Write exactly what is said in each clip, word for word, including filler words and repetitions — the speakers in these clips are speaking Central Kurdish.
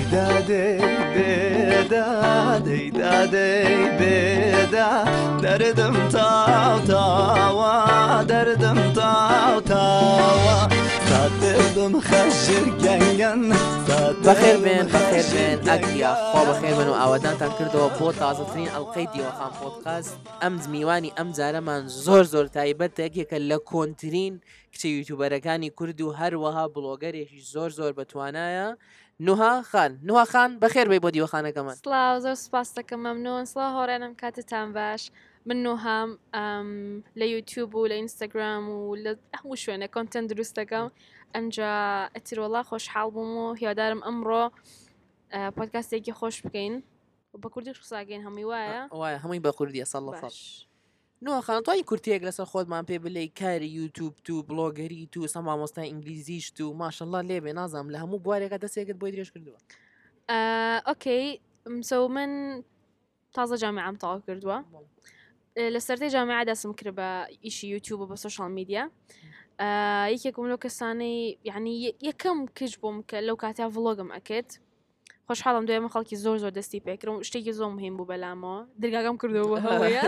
دادی بدا دی دادی بدا دردم تاو تاوا دردم تاو تاوا دردم خشر گنگن بخير بين بخير بين أكيا خو بخير بين وعودان تكردوا بوت تازترين القيدي وخام بودكاست أمز ميواني أمز من زور زور تايبت أكيا كلا كونترين كتي يوتيوبر كاني كردو هر وها بلوجر زور زور بتوانايا نوها خان نوها خان بخير بي بودي وخانه كمان سلااو زۆر سپاس دەکەم مەمنون سڵاو هۆڕێنم کاتتان باش من نوهام لە یوتیوب و لە ئینستاگرام و لە هەموو شوێنە کۆنتنت دروست دەکەم ئەنجا ئەتیرۆڵا خۆشحاڵ بووم و هیوادارم ئەمڕۆ پۆدکاستێکی خۆش بکەین و بە کوردی قساگەین هەمووی وایە وایە هەمووی بە کوردیە سەڵ لە سەڵ نوها خان توانی کورتێک لەسەر خۆتمان پێ بڵێ کاری یوتیوب تو بلۆگەری تو سە مامۆستای ئینگلیزیش تو ماشەڵڵا لێبێ نازانم لە هەموو بوارێکە دەستێکت بۆی درێژ کردووە ئۆکەی سو من تازە جامعەم تەواو کردووە لە سەرەتای جامعە دەسم کرد بە ئیشی یوتیوب و بە سۆشیال میدیا یەکێکم لەو کەسانەی یعنی یەکەم کەش بووم کە لەو کاتیا ڤڵۆگم ئەکرد خۆشحاڵم دوێمە خەڵکی زۆر زۆر دەستی پێکردم شتێکی زۆر مهم بوو بەلامەوە دەرگاکەم کردەوە هەوەیە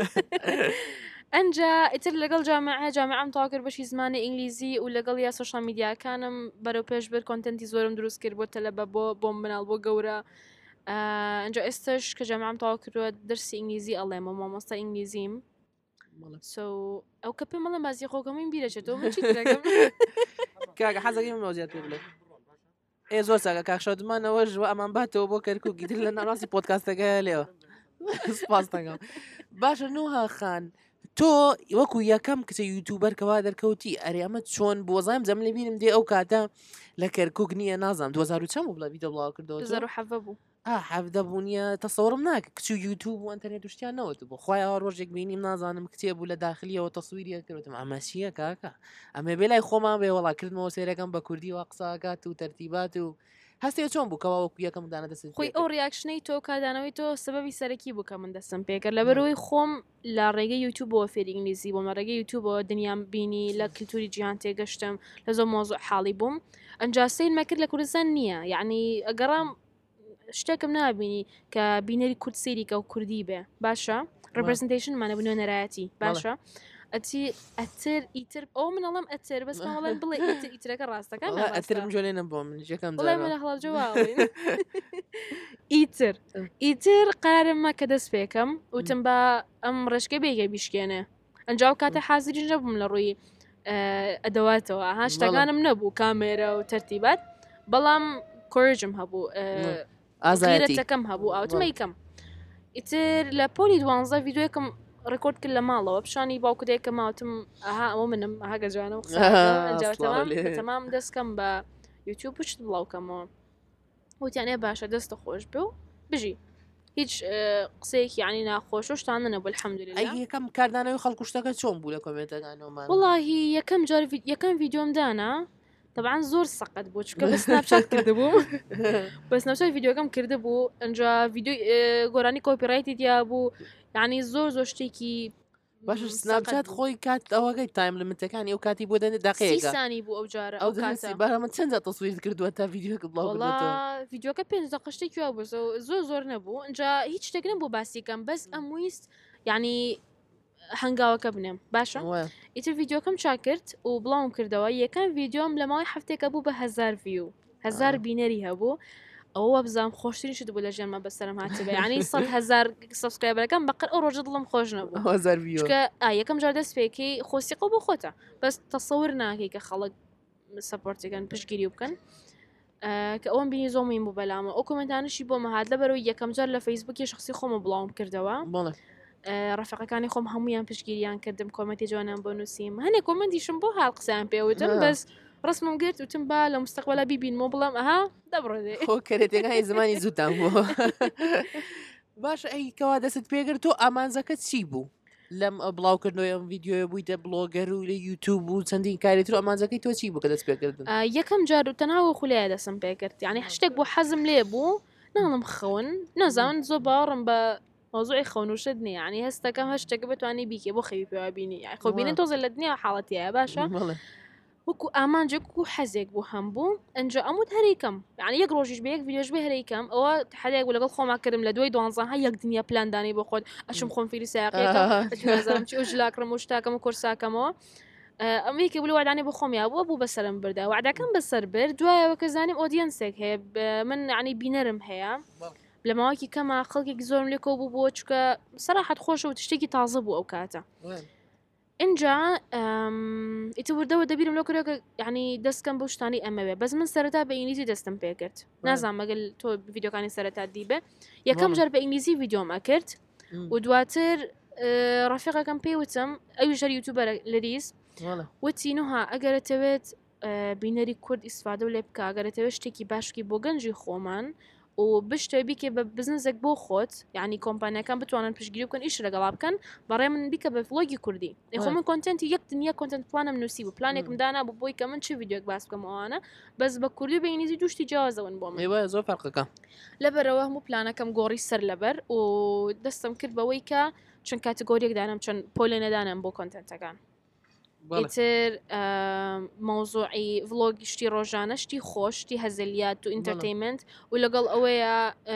ئەنجا ئیتر لەگەڵ جامعە جامعەم تەواو کرد بەشی زمانی ئینگلیزی و لەگەڵ یا سۆشیال میدیاکانم بەرەو پێش بر کۆنتنتی زۆرم دروست کرد بۆ تەلەبە بۆ بۆم بناڵ بۆ گەورە ئەنجا ئێستش کە جامعەم تەواو کردووە دەرسی ئینگلیزی ئەڵێمە مامۆستا ئینگلیزیم سو ئەو کە پێم مەڵێ بازی خۆکەمین بیرەچێتەوە من چی دەکەم کاکە حەزەکەی من مەوزیات پێ بڵێ ئێ زۆر چاکە کاکشەوتمانەوەژ و ئەمان باتەوە بۆ کەرکوو گیتر لە ناڕاستی پۆدکاستەکە لێوە سپاس دەکەم باشە نوها خان تۆ وەکو یەکەم کچە یوتیوبەر کەوا دەرکەوتی ئەرێ ئەمە چۆن بۆ زایم جەم لێ بینم دێ ئەو کاتە لە کەرکووک نییە نازانم دوو هەزار و چەند بوو بڵێ ڤیدیۆ بڵاو کردەوە دوو هەزار و حەڤە بوو حەڤدە بوو نییە تەسەوڕم ناکە کچ و یوتیوب و ئەنتەرنێت و شتیان نەوت بۆ خۆیەوە ڕۆژێک بینیم نازانم کتێ بوو لە داخلیەوە تەسویریە کردوتم ئەمە چییە کاکە ئەمە بێ لای خۆمان بێ وەڵا کردمەوە سێرەکەم بە کوردی و قساکات و تەرتیبات و هەستێ چۆن بوو کەوا وەکو یەکەم دانە دەست خۆی ئەو ریاکشنەی تۆ کادانەوەی تۆ سبەبی سەرەکی بوو کە من دەستم پێکرد لەبەرەوەی خۆم لە ڕێگەی یوتیوبەوە فێری ئینگلیزی بۆم لە ڕێگەی یوتیوبەوە دنیام بینی لە کللتوری جیهان تێگەشتم لە زۆر مۆزوع حاڵی بووم ئەنجا سەیرمە کرد لە کوردستان نییە یعنی ئەگەڕام شتێکم نابینی کە بینەری کورد سەیری کە و کوردی بێ باشە ڕپرزنتیشنمانە بنوێ نەرایەتی باشە ئەتی ئەتر ئیتر ئەو منەڵم ئەتر بەس ماڵێن بڵێ ئیتر ئیترەکە ڕاستەکان ئەترم جۆلێنم بۆ من یەکەم بڵێ منە هەڵاجەواڵین ئیتر ئیتر قرارممە کە دەست پێکەم وتم بە ئەم ڕێشکە بێگە بیشکێنێ ئەنجاو کاتە حازری نەبووم لە ڕووی ئەدەواتەوە ها شتەکانم نەبوو کامێرە و تەرتیبات بەڵام کۆرجم هەبوو ئازارەتەکەم هەبوو ئاوتمە یکەم ئیتر لە پۆلی دوانزە ڤیدیۆیەکەم ڕێکۆرد کرد لە ماڵەوە پیشانی باوکدێکە ماوتم ئەها ئەوە منم ئەها گەجانە تەمام دەستکەم بە یوتیوب پشت بڵاوکەمەوە وتیانێ باشە دەستە خۆش بێ و بژی هیچ قسەیەکی یعنی ناخۆش و شتانە نەبوو الحەمدولله یەکەم کاردانەوەی خەڵک شتەکە چۆن بوو لە کۆمنتەکانەوەمان وەڵاهی یەکەم جار یەکەم ڤیدیۆم دانا طبعا زۆر سەقەت بوو چکە بە سناپچات کردبوو بە سناپچات ڤیدیۆکەم کرده بوو ئەنجا ڤیدیۆ گۆرانی کۆپیڕایتی دیا بوو یعنی زۆر زۆر شتێکی باش سناپچات خۆی کات ئەوەکەی تایم لمتەکانی ئەو کاتی بۆ دەنێ دقەیەکە سانی بوو ئەو جارە ئەو کاتی بەرامە چەند جا تەسویر کردووە تا ڤیدیۆکە بڵاو بڵاو ڤیدیۆکە پێنج دقە شتێکی وا بوو زۆر زۆر نەبوو ئەنجا هیچ شتێک نەبوو باسیکەم بەس ئەم ویست یعنی هەنگاوەکە بنێم باشە ئیتر ڤیدیۆکەم چاکرد و بڵاوم کردەوە یەکەم ڤیدیۆم لە ماوەی هەفتێکە بوو بە هەزار ڤیو هەزار بینەری هەبوو ئەوە بزانام خۆشترین شت بوو لە ژیانمە بەسەرم هاتبێ یعنی سەد هەزار سەبسکرایبەرەکەم بەقەر ئەو ڕۆژە دڵم خۆش نەبوو هەزار ڤیو چکە یەکەم جار دەست پێکەی خۆسیقە بۆ خۆتە بەس تەسەور ناکەی کە خەڵک سەپۆرتەکەن پشتگیری بکەن کە ئەوم بینی زۆر مهم بوو بەلامە ئەو کۆمنتانشی بۆمە هات لەبەرەوەی یەکەم جار لە فەیسبووکی شخصی خۆمە بڵاوم کردەوە ڕفەقەکانی خۆم هەمویان پشتگیریان کردم کۆمەتی جوانان بۆ نووسیم هەنێک کۆمنتیشم بۆ هاڵ قسەیان پێوتم بەس ڕسمم گرت وتم با لە مستەقبەلا بیبینمەوە بڵام ئەها دەبڕێ خۆ کەرێتەکانی زمانی زووتان بوو باش ئەی کەوا دەست پێگرت تۆ ئامانزەکە چی بوو لەم بڵاوکردنەوەی ئەم ڤیدیۆە بوویتە بڵۆگەر و لە یوتیوب و چەندین کارێتتر ئامانزەکەی تۆ چی بوو کە دەست پێکردن یەکەم جار و تەناوە خولایە دەسم پێکرد یعنی شتێک بۆ حەزم لێ بوو ناڵم خەون نازانن زۆر باوەڕم بە مۆزوعی خەونوشت نییە ینی هەستەکەم هەشتێکە بتوانانی بیکێ بۆ خەوی پێوا بینی خۆ بینن تۆزە لە دنیا حاڵەتیە باشە وەکو ئامانجێک و حەزێک بۆ هەمبوو ئەنجا ئەموت هەریکەم یعنی یەک ڕۆژیش بە یەک ڤیدیۆش بێ هەریکەم ئەوە حەدێک بوو لەگەڵ خۆما کردم لە دوای دوانزە یەک دنیا پلاندانی بۆ خۆت ئەچم خۆم فیری سایقەکەم چی ئۆژلاکڕم و شتاکەم و کورساکەمەوە ئەمریکی بلو وعدانی بۆ خۆمیا بووە بوو بەسەرم بردا وعدەکەم بەسەر برد دوایەوە کە زانیم ئۆدیەنسێک هەیە من عنی بینەرم هەیە لە ماوەکی کەمە خەڵکێک زۆرم لێ کۆ بوو بۆ چکە سەراحەت خۆشە و تشتێکی تازە بوو ئەو کاتە اینجا ئیتر وردەوە دەبیرم لەو کردەوە کە یعنی دەستکەم بۆ شتانی ئەمەوێ بەس من سەرەتا بە ئینگلیزی دەستم پێ کرد نازانم مەگەل تۆ ڤیدیۆکانی سەرەتا دیبێ یەکەم جار بە ئینگلیزی ڤیدیۆم ئەکرد و دواتر ڕەفیقەکەم پێی وتم ئەویش هەر یوتیوبەرە لەریس وتی نوها ئەگەرەتەوێت بینەری کورد ئیسفادە و لێ بکە ئەگەرەتەوێت شتێکی باشکی بۆ گەنجی خۆمان و بشتە بیکێ بە بزنسێک بۆ خۆت یعنی کۆمپانیەکان بتوانن پشتگیری بکەن ئیش لەگەڵا بکەن بەڕێ من بیکە بە ڤلۆگی کوردی خۆ من کۆنتنتی یەک دنیا کۆنتنت پلانم نووسی بوو پلانێکم دانا بوو بۆی کە من چی ڤیدیۆک باس بکەم ئەوانە بەس بە کوردی بە ئینگلیزی دوشتی جیاوازەون بۆ من ئێوە زۆر فەرقەکە لەبەرەوە هەموو پلانەکەم گۆڕی سەر لەبەر و دەستم کرد بەوەی کە چەند کاتگۆریەک دانم چەند پۆلێ نەدانم بۆ کۆنتنتەکان ئیتر مۆزوعی ڤلۆگی شتی ڕۆژانە شتی خۆش شتی هەزلیات و ئینتەرتەینمنت و لەگەڵ ئەوەیە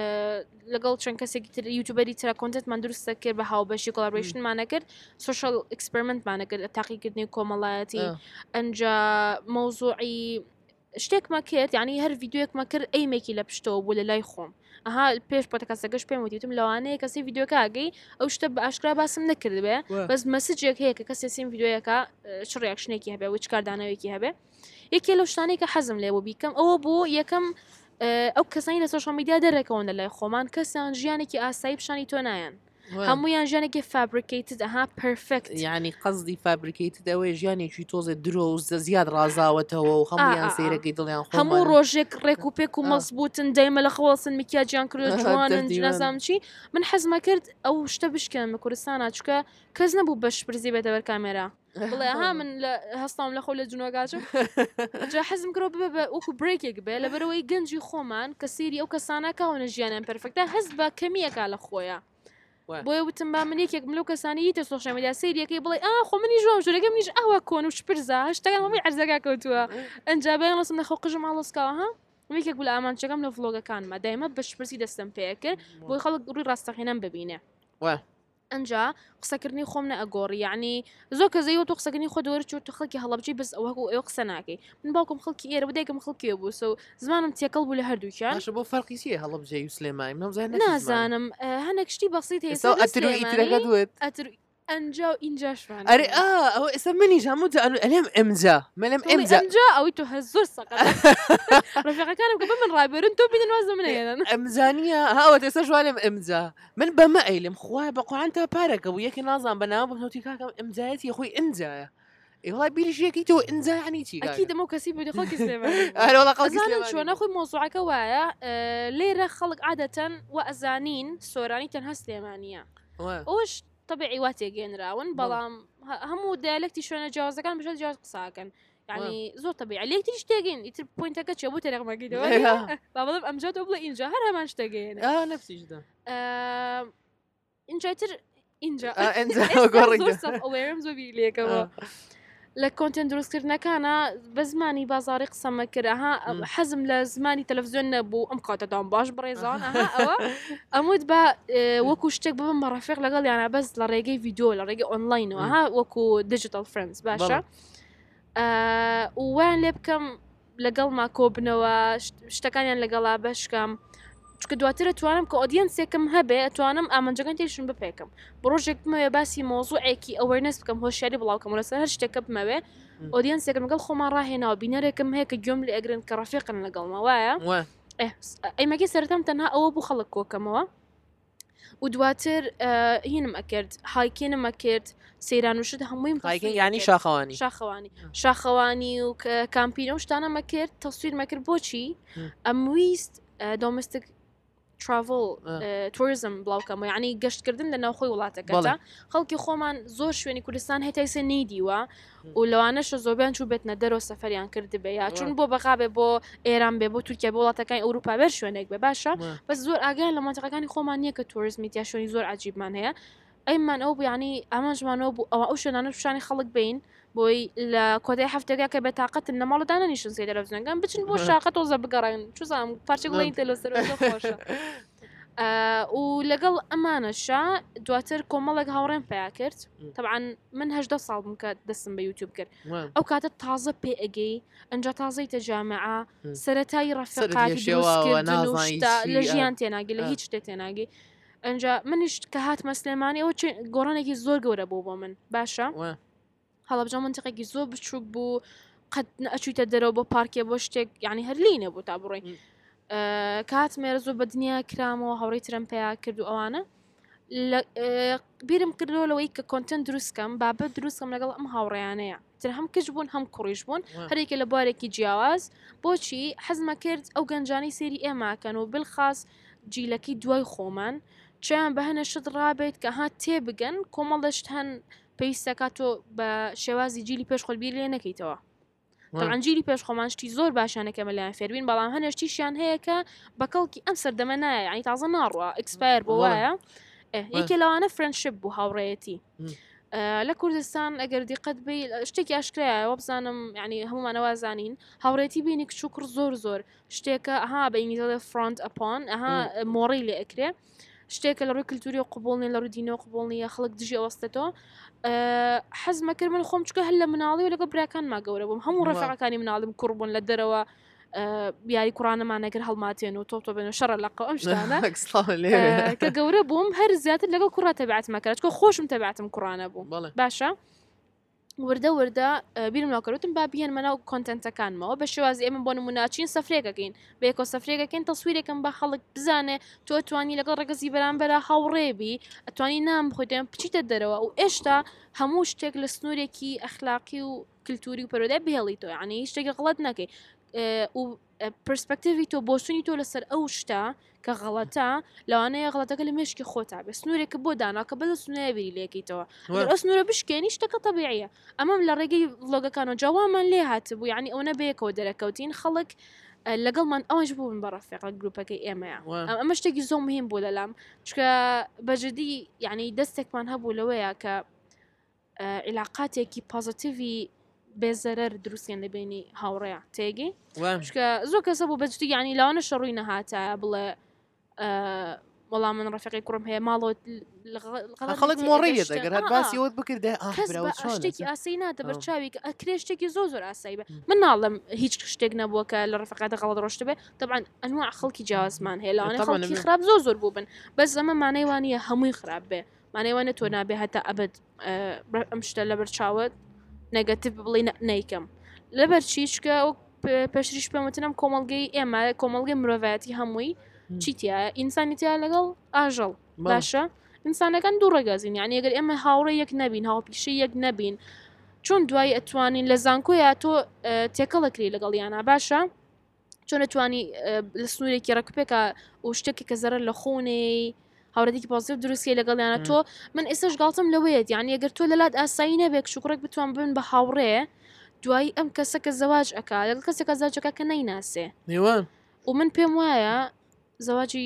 لەگەڵ چەند کەسێکی تر یوتیوبەری ترە کۆنتنتمان دروستە کرد بە هاوبەشی کۆلابۆریشنمانە کرد سۆشەڵ ئەکسپریمنتمانە کرد تاقیکردنی کۆمەڵایەتی ئەنجا مۆزوعی شتێکمە کرد یعنی هەر ڤیدیۆیەکمە کرد ئەیمێکی لە پشتەوە بوو لە لای خۆم ئەها پێش پۆتەکەسەکەش پێم وتیتم لەوانەیە کەسی ڤیدیۆکە ئاگەی ئەو شتە بە ئاشکرا باسم نەکرد بێ بەس مەسجێک هەیە کە کەسێ سیم ڤیدیۆیەکە چ ڕیاکشنێکی هەبێ و چ کاردانەوەیکی هەبێ یەکێ لەو شتانەی کە حەزم لێبوو بیکەم ئەوە بوو یەکەم ئەو کەسانی لە سۆشەڵ میدیا دەرەکەون لە لای خۆمان کەسیان ژیانێکی ئاسایی پیشانی تۆ نایەن هەموویان ژیانێکی فابریکیتد ئەها پرفکت یعنی قەزدی فابریکیتد ئەوەی ژیانێکی تۆزێ درۆ و زیاد ڕازاوەتەوە و هەمویان سەیرەکەی دڵیان خۆ هەموو ڕۆژێک ڕێک و پێک و مەزبوطن دەیمە لە خەوەسن میکیاجیان کرد جوانن نەزانم چی من حەزمە کرد ئەو شتە بشکێنم لە کوردستانە چکە کەس نەبوو بەش پرزی بێتە بەر کامێرا بڵێ ها من لە هەستام لە خۆ لە جنۆگاچم جا حەزم کرۆ ببێ بە وەکو برێکێک بێ لەبەرەوەی گەنجی خۆمان کە سێری ئەو کەسانە کاونە ژیانیان پەرفەکتە هەست بە کەمیەکە لە خۆیە بۆیە وتم با من یەکێک ملو کەسانی تە سۆشەڵ میدیا سەیریەکەی بڵێ ئا خۆ منی ژۆم ژورەکەم نیش ئەوە کۆن و شپرزە هەشتەکان هەمووی عەرزەکە کەوتووە ئەنجا بەیان لەسم نەخۆ قژم ئاڵۆسکاوە ها یەکێک بوو لە ئامانچەکەم لە ڤلۆگەکانمە دایمە بە شپرسی دەستم پێ کرد بۆی خەڵک ڕووی ڕاستەقینەم ببینێ ئەنجا قسەکردنی خۆم نە ئەگۆڕی یعنی زۆر کە زەیوە تۆ قسەکردنی خۆ دەوەرە چۆ تۆ خەڵکی هەڵەبجی بەس ئەوە ئەوە قسە ناکەی من باوکم خەڵکی ئێرە بدایکم خەڵکی بوو سو زمانم تێکەڵ بوو لە هەردووکیان بۆ فەرقی چیە هەڵەبجێ و سلێمانی نازانم هەنێک شتی بەسیت هەیە دوێت ئەنجا و ئینجاشوان ئەرێ ئەوە ئێستا منیش هەموو ئەلێم ئەمجا منم ئەمجا ئەوی تۆ هە زۆر سەق ڕفیقەکانم کە بە من ڕابێرن تۆ بینن وازە منێنن ئەمزانیە هاوە ئێستا شوالێم ئەمجا من بەمە ئەیلم خوای بە قوعان تا پارەکە بوو یەکی نازان بەناو بنوتی کاکەم ئەمجایەتی خۆی ئەمجایە ئێوە بیریشیەکی تۆ ئەمجا عنی چی ئەکی دەمە کەسی بۆ خەڵکی سلێمانی چۆنە خۆی مۆزوعەکە وایە لێرە خەڵک عادەتەن و ئەزانین سۆرانی تەنها سلێمانیە ئەوش طبيعي واتێگەێنراون بەڵام هەموو دایلەکتی شوێنە جیاوازەکان بژێت جیاواز قساکەن یعنی زۆر طبيعي لێکتری شتێگەین ئیتر پوینتەکە چێ بۆ تەرەقمەکەیەوە با بڵێم ئەمجا تۆ بڵێ ئینجا هەر هەمان شتەگەێن نفسیشدا ئینجاتر ئینجا ئەوێرم زۆبی لێکەوە لە کۆنتنت دروستکردنەکانە بە زمانی بازاری قسەمە کردها حەزم لە زمانی تەلەڤیزیۆن نەبوو ئەم کاتەدام باش بڕێزان ئەوە ئەموت بە وەکو شتێک ببم بە ڕەفیق لەگەڵ یانە بەس لە ڕێگەی ڤیدیۆ لە ڕێگەی ئۆنلاینەوە ها وەکو دیجیتال فرندز باشە ویان لێ بکەم لەگەڵ ما کۆبنەوە شتەکانیان لەگەڵا بەشکەم چکە دواترە توانم کە ئۆدیەنسێکم هەبێ ئەتوانم ئامانجەکان تێشم بپێکم بە ڕۆژێک بمەوێ باسی مۆزوعێکی ئەوەرنەس بکەم هۆشیاری بڵاوکەم لەسەر هەر شتێکە بمەوێ ئۆدیەنسێکم لەگەڵ خۆمان ڕاهێناوە بینەرێکم هەیە کە گوێم لێ ئەگرن کە ڕەفیقن لەگەڵمە وایە ئەیمەکی سەرەتام تەنها ئەوە بوو خەڵک کۆکەمەوە و دواتر هینم ئەکرد هایکێنم ئەکرد سەیران وشت هەمووی ینی شاخەوانی شاخەوانی شاخەوانی و کامپینە و شتانەمە کرد تەسویرمە کرد بۆچی ئەمویست دۆمستیک تراڤل توریزم بڵاوکەمە یعنی گەشتکردن لە ناوخۆی وڵاتەکەدا خەڵکی خۆمان زۆر شوێنی کوردستان هێتایسە نەیدیوە و لەوانەشە زۆربیان چوو بێتنە دەرەوە سەفەریان کرد بێ یا چون بۆ بەغابێ بۆ ئێران بێ بۆ تورکیا بۆ وڵاتەکانی ئەوروپا بەر شوێنێک بێ باشە بەس زۆر ئاگیان لە مانتەقەکانی خۆمان نییە کە توریزمیت شوێنی زۆر عجیبمان هەیە ئەیمان ئەو ینی ئامانژمانەوە بوو ئەوە ئەو شوێنانە پیشانی خەڵک بین بۆی لە کۆتای هەفتێکا کە بێتاقەت نەماڵدانە نیشن سێ تەلەڤیزیۆنەکان بچن بۆ شاقەت تۆزە بگەڕێن چوزانم پارچە بڵین تەلۆسەر خۆشە و لەگەڵ ئەمانەشە دواتر کۆمەڵێک هاوڕێن پیا کرد طبعاً من هەژدە ساڵ بووم کە دەستم بە یوتیوب کرد ئەو کاتە تازە پێ ئەگەی ئەنجا تازەی تەجامعە سەرەتایی ڕەفیقاتی دروستکردن و شتا لە ژیان تێناگی لە هیچ شتێ تێناگی ئەنجا منیش کە هاتمە سلێمانی ئەوە گۆڕانێکی زۆر گەورە بوو بۆ من باشە هەڵەبجە منتیقێکی زۆر بچووک بوو قەت ئەچوویتە دەرەوە بۆ پارکێ بۆ شتێک یعنی هەر لینە بوو تا بڕۆی کات مێرە زۆر بە دنیا کرامەوە هەوڕێی ترم پێیا کرد و ئەوانە بیرم کردەوە لەوەی کە کۆنتنت دروستکەم بابەت دروستکەم لەگەڵ ئەم هاوڕێیانەیە تر هەم کەش بوون هەم کوڕیش بوون هەرێکە لە بوارێکی جیاواز بۆچی حەزمە کرد ئەو گەنجانی سێری ئێماکەن و بالخاص جیلەکەی دوای خۆمان چیان بە هەنە شت ڕابێت کە ها تێبگەن کۆمەڵدەشت هەن پێویستەکات تۆ بە شێوازی جیلی پێش خۆلبیر لێ نەکەیتەوە تەنجیلی پێش خۆمانشتی زۆر باشانەکە مەلایەن فێربین بەڵام هەنێشتیشیان هەیە کە بەکەڵکی ئەم سەردەمە نایە ینی تازە ناڕوە ئەکسپایر بۆ وایە یەکێ لەوانە فرەندشیپ بوو هاوڕێیەتی لە کوردستان ئەگەر دیقەت بی شتێکی ئاشکرایەوە بزانم ینی هەمومانەوە زانین هاوڕێتی بینی کچووکڕ زۆر زۆر شتێکە ئەها بە ئینگلیزیەوە فرۆنت ئەپۆن ئەها مۆڕی لێ ئەکرێ شتێکە لە ڕووی کللتوری و قوبوڵنی لە ڕووی دینەوە قوبوڵنیە خەڵک دژی ئەوەستێتەوە حەزمە کرد من خۆم چکە هەر لە مناڵی و لەگە براکان ما گەورە بووم هەموو ڕێفەقەکانی مناڵم کوڕ بوون لە دەرەوە بیاری کوڕانەمان نەکرد هەڵماتێن و تۆ تۆ بێنە شەڕە لەقە ئەم شتانە کە گەورە بووم هەر زیاتر لەگەڵ کوڕا تەبیعەتمە کرد چکە خۆشم تەبیعەتم کوڕانە بوو باشە وردە وردە بیرم ناکەوتم با بیان مناو کۆنتنتەکانمەوە بە شێوازی ئێمە بۆ نموناچین سەفرێکەکەین بە یەکۆ سەفرێکەکەین تەسویرێکم بە خەڵک بزانێ تۆ توانی لەگەڵ ڕێگەزی بەرامبەرە هاوڕێبی ئەتوانی نام خۆتیان بچیتە دەرەوە و ئێشتا هەموو شتێک لە سنوورێکی ئەخلاقی و کللتوری و پەرۆدای بهێڵیتەوە یعنی شتێکی غەڵەت نەکەی و پرسپەکتیڤی تۆ بۆسوونی تۆ لەسەر ئەو شتا کە غەڵەتە لەوانەیە غەڵەتەکە لە مێشکی خۆتا بێ سنوورێکە بۆ داناکە بەدە سنوورە بیری لێکیتەوە ئەو سنوورە بشکێنی شتەکە تەبیعیە ئەمەم لە ڕێگەی ڤڵۆگەکانەوە جاوامان لێ هاتبوو یعنی ئەو نەبەیەکەوە دەرەکەوتین خەڵک لەگەڵمان ئەوەش بوون بە ڕەفیق گروپەکەی ئێمەیە ئەمە شتێکی زۆر مهم بوو لەلام چکە بەجددی یعنی دەستێکمان هەبوو لەوەیە کە علاقاتێکی پازیتیڤی بێزەرەر دروستیان لە بینی هاوڕێە تێگەی چکە زۆر کەسە بوو بەجددی یعنی لاوانە شەڕووی نەهاتە بڵێ وەڵام من ڕەفیقی کوڕم هەیە ماڵەوە خەڵک مۆڕیە دەگەر هەر باسیەوەت بکردێ شتێکی ئاسی ناتە بەرچاوی کە ئەکرێ شتێکی زۆر زۆر ئاسایی بێ من ناڵم هیچ شتێک نەبووە کە لە ڕەفقاتە غەڵەت ڕۆشت بێ طبعاً ئەنواع خەڵکی جیاوازمان هەیە لەوانە خەڵکی خراپ زۆر زۆر بوو بن بەس ئەمە مانای وانە هەمووی خراپ بێ مانای وانە تۆ نابێ هەتا ئەبد ئەم شتە لە بەرچاوت نەگەتیڤ بڵێ نەیکەم لەبەر چیچکە و پێشریش پێمەتنم کۆمەڵگەی ئێمە کۆمەڵگەی مرۆڤایەتی هەمووی چیتیە ئینسانیتیا لەگەڵ ئاژەڵ باشە ئینسانەکان دوو ڕێگازین یعنی ئەگەر ئێمە هاوڕێ یەک نەبین هاوپیشەی یەک نەبین چۆن دوای ئەتوانین لە زانکۆیە تۆ تێکەڵەکری لەگەڵ یانە باشە چۆن ئەتوانی لە سنوورێکی ڕکوپێکە و شتێکی کە زەرە لە خۆنەی هاوڕێتی پازیتیڤ دروستی لەگەڵیانە تۆ من ئێستش گاڵتم لەوەیەت یعنی ئەگەر تۆ لەلات ئاسایی نەبێت شوکڕێک بتوان بن بە هاوڕێ دوای ئەم کەسەکە زەواج ئەکا لەگەڵ کەسێکە زەواجەکە کە نەیناسێ و من پێم وایە زەواجی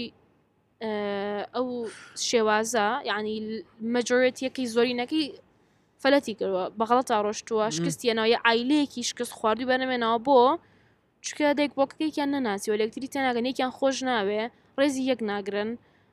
ئەو شێوازە یعنی مەجۆرەتیەکەی زۆرینەکەی فەلەتی کردووە بەغەڵەتا ڕۆشتووە شکستیەنەوەی عیلەیەکی شکست خواردوی بەنەمێنەوە بۆ چکە دێک بۆکەکەیان نەناسی و لەکتری تێناگەن یەکیان خۆش ناوێ ڕێزی یەک ناگرن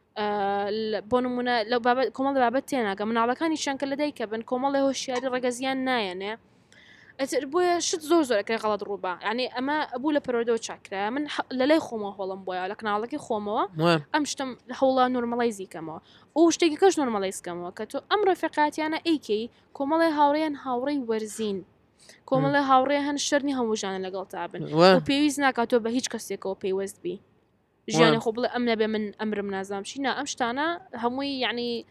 بۆ نمونە لە کۆمەڵ بابەت تێناگە مناڵەکانی شانکە لە دایکە بن کۆمەڵی هۆشیاری ڕێگەزیان نایەنێ ئەتر بۆیە شت زۆر زۆرەکەی غەڵەت ڕووبە یعنی ئەمە بوو لە پەرۆدەوە چاکرا من لە لای خۆمەوە هۆڵم بۆیە لە کەناڵەکەی خۆمەوە ئەم شتم لە هەوڵا نۆرمەڵایزیکەمەوە و شتێکی کەش نۆرمەڵایزکەمەوە کە تۆ ئەم ڕێفقاتیانە ئەیکەی کۆمەڵی هاوڕێیان هاوڕێی وەرزین کۆمەڵی هاوڕێ هەن شەرنی هەمووژانە لەگەڵ تابن و پێویست ناکاتۆ بە هیچ کەسێکەوە پێیوەست بی ژیانی خۆ بڵێ ئەم نەبێ من ئەمرم نازام شینا ئەم شتانە هەمووی یعنی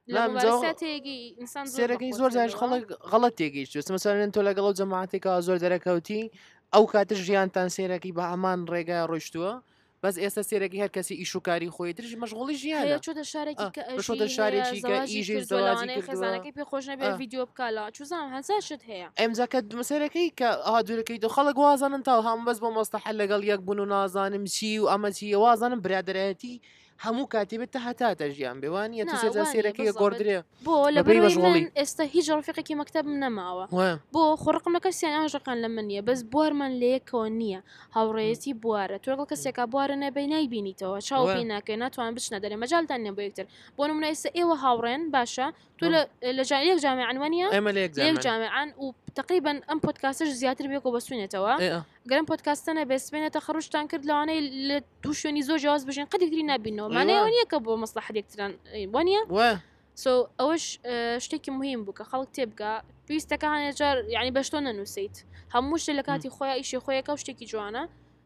سێرەکەی زۆر جاش خەڵک غەڵەت تێگەیشت مەسەرەن تۆ لەگەڵ جەماعەتێکە زۆر دەرەکەوتی ئەو کاتر ژیانتان سێرەکی بە هەمان ڕێگای ڕۆیشتووە بەس ئێستا سێرەکی هەر کەسی ئیشوکاری خۆی ترش مەشغوڵی ژیانە چۆتە شارێکی چۆتە شارێکی کە ئیژی زەواجی خێزانەکەی پێ خۆش نەبێ ڤیدیۆ بکالا چوزام هەزا شت هەیە ئەمجاکە مەسەرەکەی کە ئاهادوورەکەی دو خەڵک وازانن تا هەم بەس بۆ مۆستەحەل لەگەڵ یەک بوون و نازانم چی و ئەمە چی وازانم برادەرایەتی هەموو کاتێبێت تا هەتاتە ژیان بێوانە تو نا، سێجار وانە، سێرەکەی بالضبط. گۆڕدرێ بۆ لە بەبێ بەرەوەی بەشغۆڵی. من ئێستا هیچ ڕفیقێکی مەکتەب نەماوە وە بۆ خۆڕقم لە کەسیان ئەو ژقان لە من نییە بەس بوارمان لەیەکەوە نییە هاوڕێتی بوارە تۆ لەگەڵ کەسێکا بوارە نەبەی نایبینیتەوە چاو وە. پێی ناکەی ناتوان بچنە دەرێ مەجالتان نیە بۆ یەکتر بۆ نمونە ئێستا ئێوە هاوڕێن باشە تۆ لە لە جا- یەک جامعان وانە ئێمە لە لە یەک یەک جامعان و تقریبا ئەم پۆدکاستش زیاتر بێکەوە بەسوێنێتەوە گەرم پۆدکاستەنە بێسبێنێتە خڕشتان کرد لەوانەیە لە دوو شوێنی زۆر جیاواز بژین قەدێکتری نبینەوە مانەوە نییە کە بۆ مەسلحەت یەکتران وانە وە سو ئەوەش شتێکی مهم بوو کە خەڵک تێبگا پێویستەکە هەنێجار یعنی بەشتۆ نەنووسیت هەموو شتێک لە کاتی خۆیان ئیشی خۆیەکە و شتێکی جوانە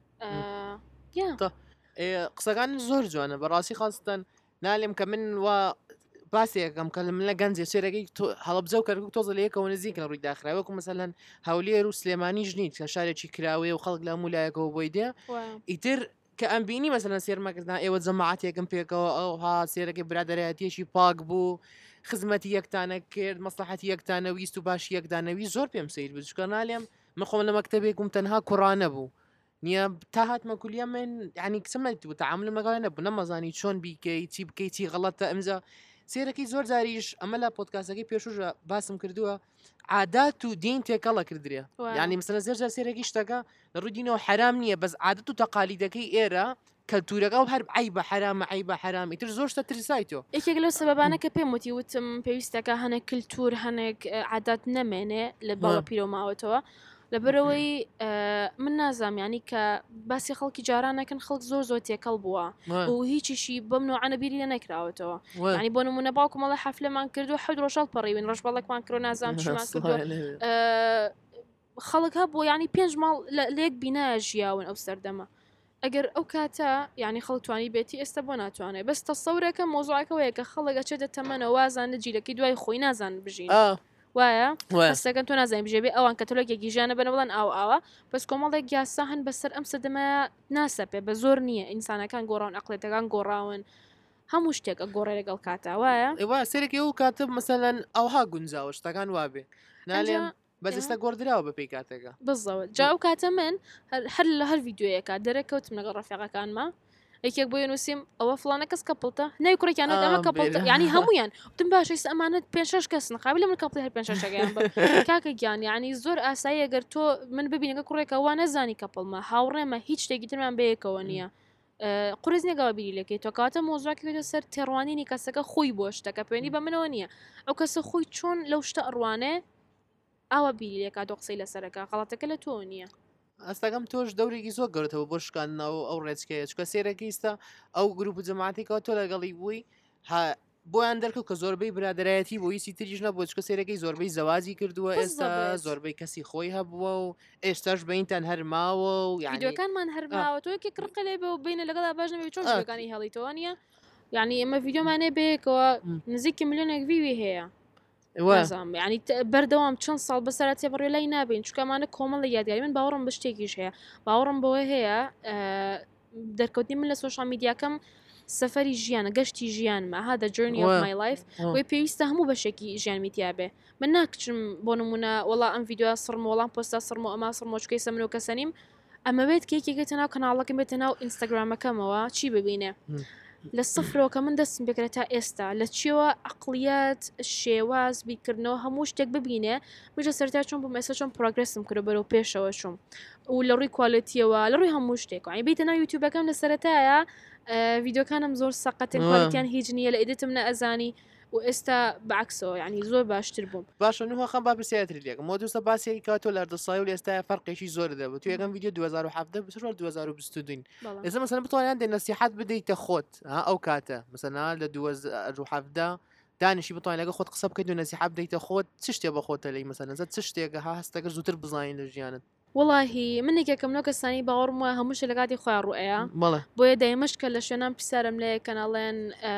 قسەکان زۆر جوانە بەڕاستی خاستن نالێم کە من وە باسێکم کە من لە گەنجێ سێرەکەی هەڵبجە و کەرک تۆزە لە یەکەوە نزیکە ڕووی داخراوەکو مەسەلەن هەولێر و سلێمانی ژنیت کە شارێکی کراوێ و خەڵک لە مولایەکەەوە بۆی دێ ئیتر کە ئەمبینی مەسەلەن سێرمەکردنا ئێوە جەماعاتێکم پێکەوە ئەوها سێرەکەی برادەرایەتیەشی پاک بوو خزمەتی یەکتانە کرد مەسلحەتی یەکتانە ویست و باشی یەکدانەوی زۆر پێم سیر بچکە نالێم من خۆم لە مەکتەبێکم تەنها کوڕانە بوو نییە تا هاتمە کولیە من ینی کسمەت بوو تعامل مەگەڵە نەبوو نەمەزانی چۆن بیکەی چی بکەی چی غەڵەتە ئەمجا سێرەکەی زۆر جاریش ئەمە لە پۆدکاسەکەی پێشوژە باسم کردووە عادات و دین تێکەڵە کردرێ ینی مەسەلەن زێرجار سێرەکی شتەکە لە ڕووی دینەوە حرام نییە بەس عادەت و تەقالیدەکەی ئێرە کەلتورەکە و هەر عی بە حرامە عی بە حرامی تر زۆر شتە ترسایتەوە یەکێک لەو سەبەبانە کە پێم وتی وتم پێویستەکە هەنێک کللتور هەنێک عادات نەمێنێ لە باوە پیرۆماوەتەوە لەبەرەوەی من نازام ینی کە باسی خەڵکی جارانەکەن خەڵک زۆر زۆر تێکەڵ بووە و هیچیشی بەم نوعانە بیری لە نەکراوەتەوە ینی بۆ نمونە باوکم مەڵە حەفلەمان کردو حەوت ڕۆژەڵ پەڕیون ڕۆژبەڵێکمان کردو نازام چمان کردو خەڵک هەبوو ینی پێنج ماڵ لێک بینە ژیاون ئەو سەردەمە ئەگەر ئەو کاتە یعنی خەڵتوانی بێتی ئێستا بۆ ناتوانێت بەس تەسەورەکە مۆزوعەکەوەیە کە خەڵک ئەچێتە تەمەنە وازانە جیلەکەی دوای خۆی نازان بژین وایە هەستەکەن تۆ نازانین بژێبێ ئەوان کە تۆلۆکێکی ژیانە بنە بڵەن ئاو ئاوە بەس کۆمەڵێک گیاسا هەن بەسەر ئەم سەدەمە ناسەپێ بە زۆر نییە ئینسانەکان گۆڕاون ئەقلێتەکان گۆڕاون هەموو شتێکە گۆڕێ لەگەڵ کاتە وایە ئێوە سێرەکی ئەو کاتە مەسەلەن ئەوها گونجاوە شتەکان وابێ نالێم بەس ئێستا گۆڕدراوە بە پێی کاتێکە بزەوە جا ئەو کاتە من هەر لە هەر ڤیددیوەکە دەرەکەوتم لەگەڵ ڕەفیقەکانمە یەکێک بۆ نووسیم ئەوە فلانە کەس کەپڵتە ناوی کوڕێکیانە ئەمە کەپڵتە ینی هەمویان وتم باشەی ئەمانەت پێ شەش کەس نقابل لە من کەپڵی هەر پێ شەشەکەیان بە کاکە گیان ینی زۆر ئاسایی ئەگەر تۆ من ببینەکە کوڕێکە وا نەزانی کەپڵمە هاوڕێمە هیچ شتێکی ترمان بەیەکەوە نییە قڕز نێگەوە بیری لەکەی تۆ کاتە مۆزراکەوێتە سەر تێڕوانینی کەسەکە خۆی بۆ شتەکە پێێنی بە منەوە نییە ئەو کەسە خۆی چۆن لەو شتە ئەڕوانێ ئاوە بیری لێکا دۆ قسەی لەسەرەکە غەڵاتەکە لە تۆ نییە ئەستەکەم تۆش دەورێکی زۆر گەورتەوە بۆ شکاندنەوە ئەو ڕێچکەیە چکە سێرەکەیستا ئەو گروپ جەماعەتێکەوە تۆ لەگەڵی بووی بۆیان دەرکەوت کە زۆربەی برادایەتی بۆ ویسی تریش نەبوو چکە سێرەکەی زۆربەی زەوازی کردووە ئێستا زۆربەی کەسی خۆی هەبووە و ئێستاش بەینتان هەرماوە و یانیەکانمان هەرماوە تۆ یەکی کڕقە لێ بێ و بینە لەگەڵا باش نەبێ چۆن شتەکانی هەڵیتەوە نیە یعنی ئێمە ڤیددیۆمانێ بەیەکەوە نزیکی ملیۆنێک ویوی هەیە ینی بەردەوام چەند ساڵ بەسەرات تێبڕێ لای نابین چکەمانە کۆمەڵ لە یادگاری من باوەڕم بە شتێکیش هەیە باوەڕم بەوەی هەیە دەرکەوتنی من لە سوۆشال میدیاکەم سەفەری ژیانە گەشتی ژیانمە هذا journey of my life وی پێویستە هەموو بەشێکی ژیان میتیابێ من ناکچم بۆ نمونە وەڵا ئەم ڤیددیۆ سڕم وەڵام پۆستا سڕم و ئەما سڕمۆچکەی سەمن و کەسەنیم ئەمە بێت کێکێکێتە ناو کەناڵەکەم بێتە ناو ئینستاگرامەکەمەوە چی ببینێ لە سفرەوە کە من دەستم بکرێت تا ئێستا لە چیەوە عقلیات شێواز بیکردنەوە هەموو شتێک ببینێ مژە سەرتا چۆن بۆ مێسە چۆن پرۆگرسم کرد بەرەو پێشەوە چوم و لە ڕووی کوالەتیەوە لە ڕووی هەموو شتێک وای بیتە ناو یوتیوبەکەم لە سەرەتایە ڤیددیۆکانم زۆر سەقەتن کوالەتیان هیچ نییە لە ئیدتم نە ئەزانی و ئێستا بەعکسەوە ینی زۆر باشتر بووم باشە نوخەم با پرسیاتری لێکم مۆدوسە باسیێکی کاتۆ لە دەسای و ئێستا فەرقێکی زۆر دەبێت تو یەکەم ڤیددیۆ دو هەزار و هەفت بچ دو هەزار و بیست و دوو ئێستا مەسەلەن بتوانیان دێ نەسیحەت بدەیتە خۆت ئەو کاتە مەسەلەن لە دو هەزار و هەفت دانیشی بتوانین لەگە خۆت قسە بکەیت و نەسیحەت بدەیتە خۆت چ شتێ بە خۆتە لی مەسەلەن چ شتێکە ها هەستەکە زووتر بزانین لە ژیانت وڵاهی من یەکێکم نۆ کەسانی باوەڕم وایە هەمووش لە کاتی خۆیان ڕوئەیە بۆیە دایمەش کە لە شوێنان پرسیارم لێ کەناڵێن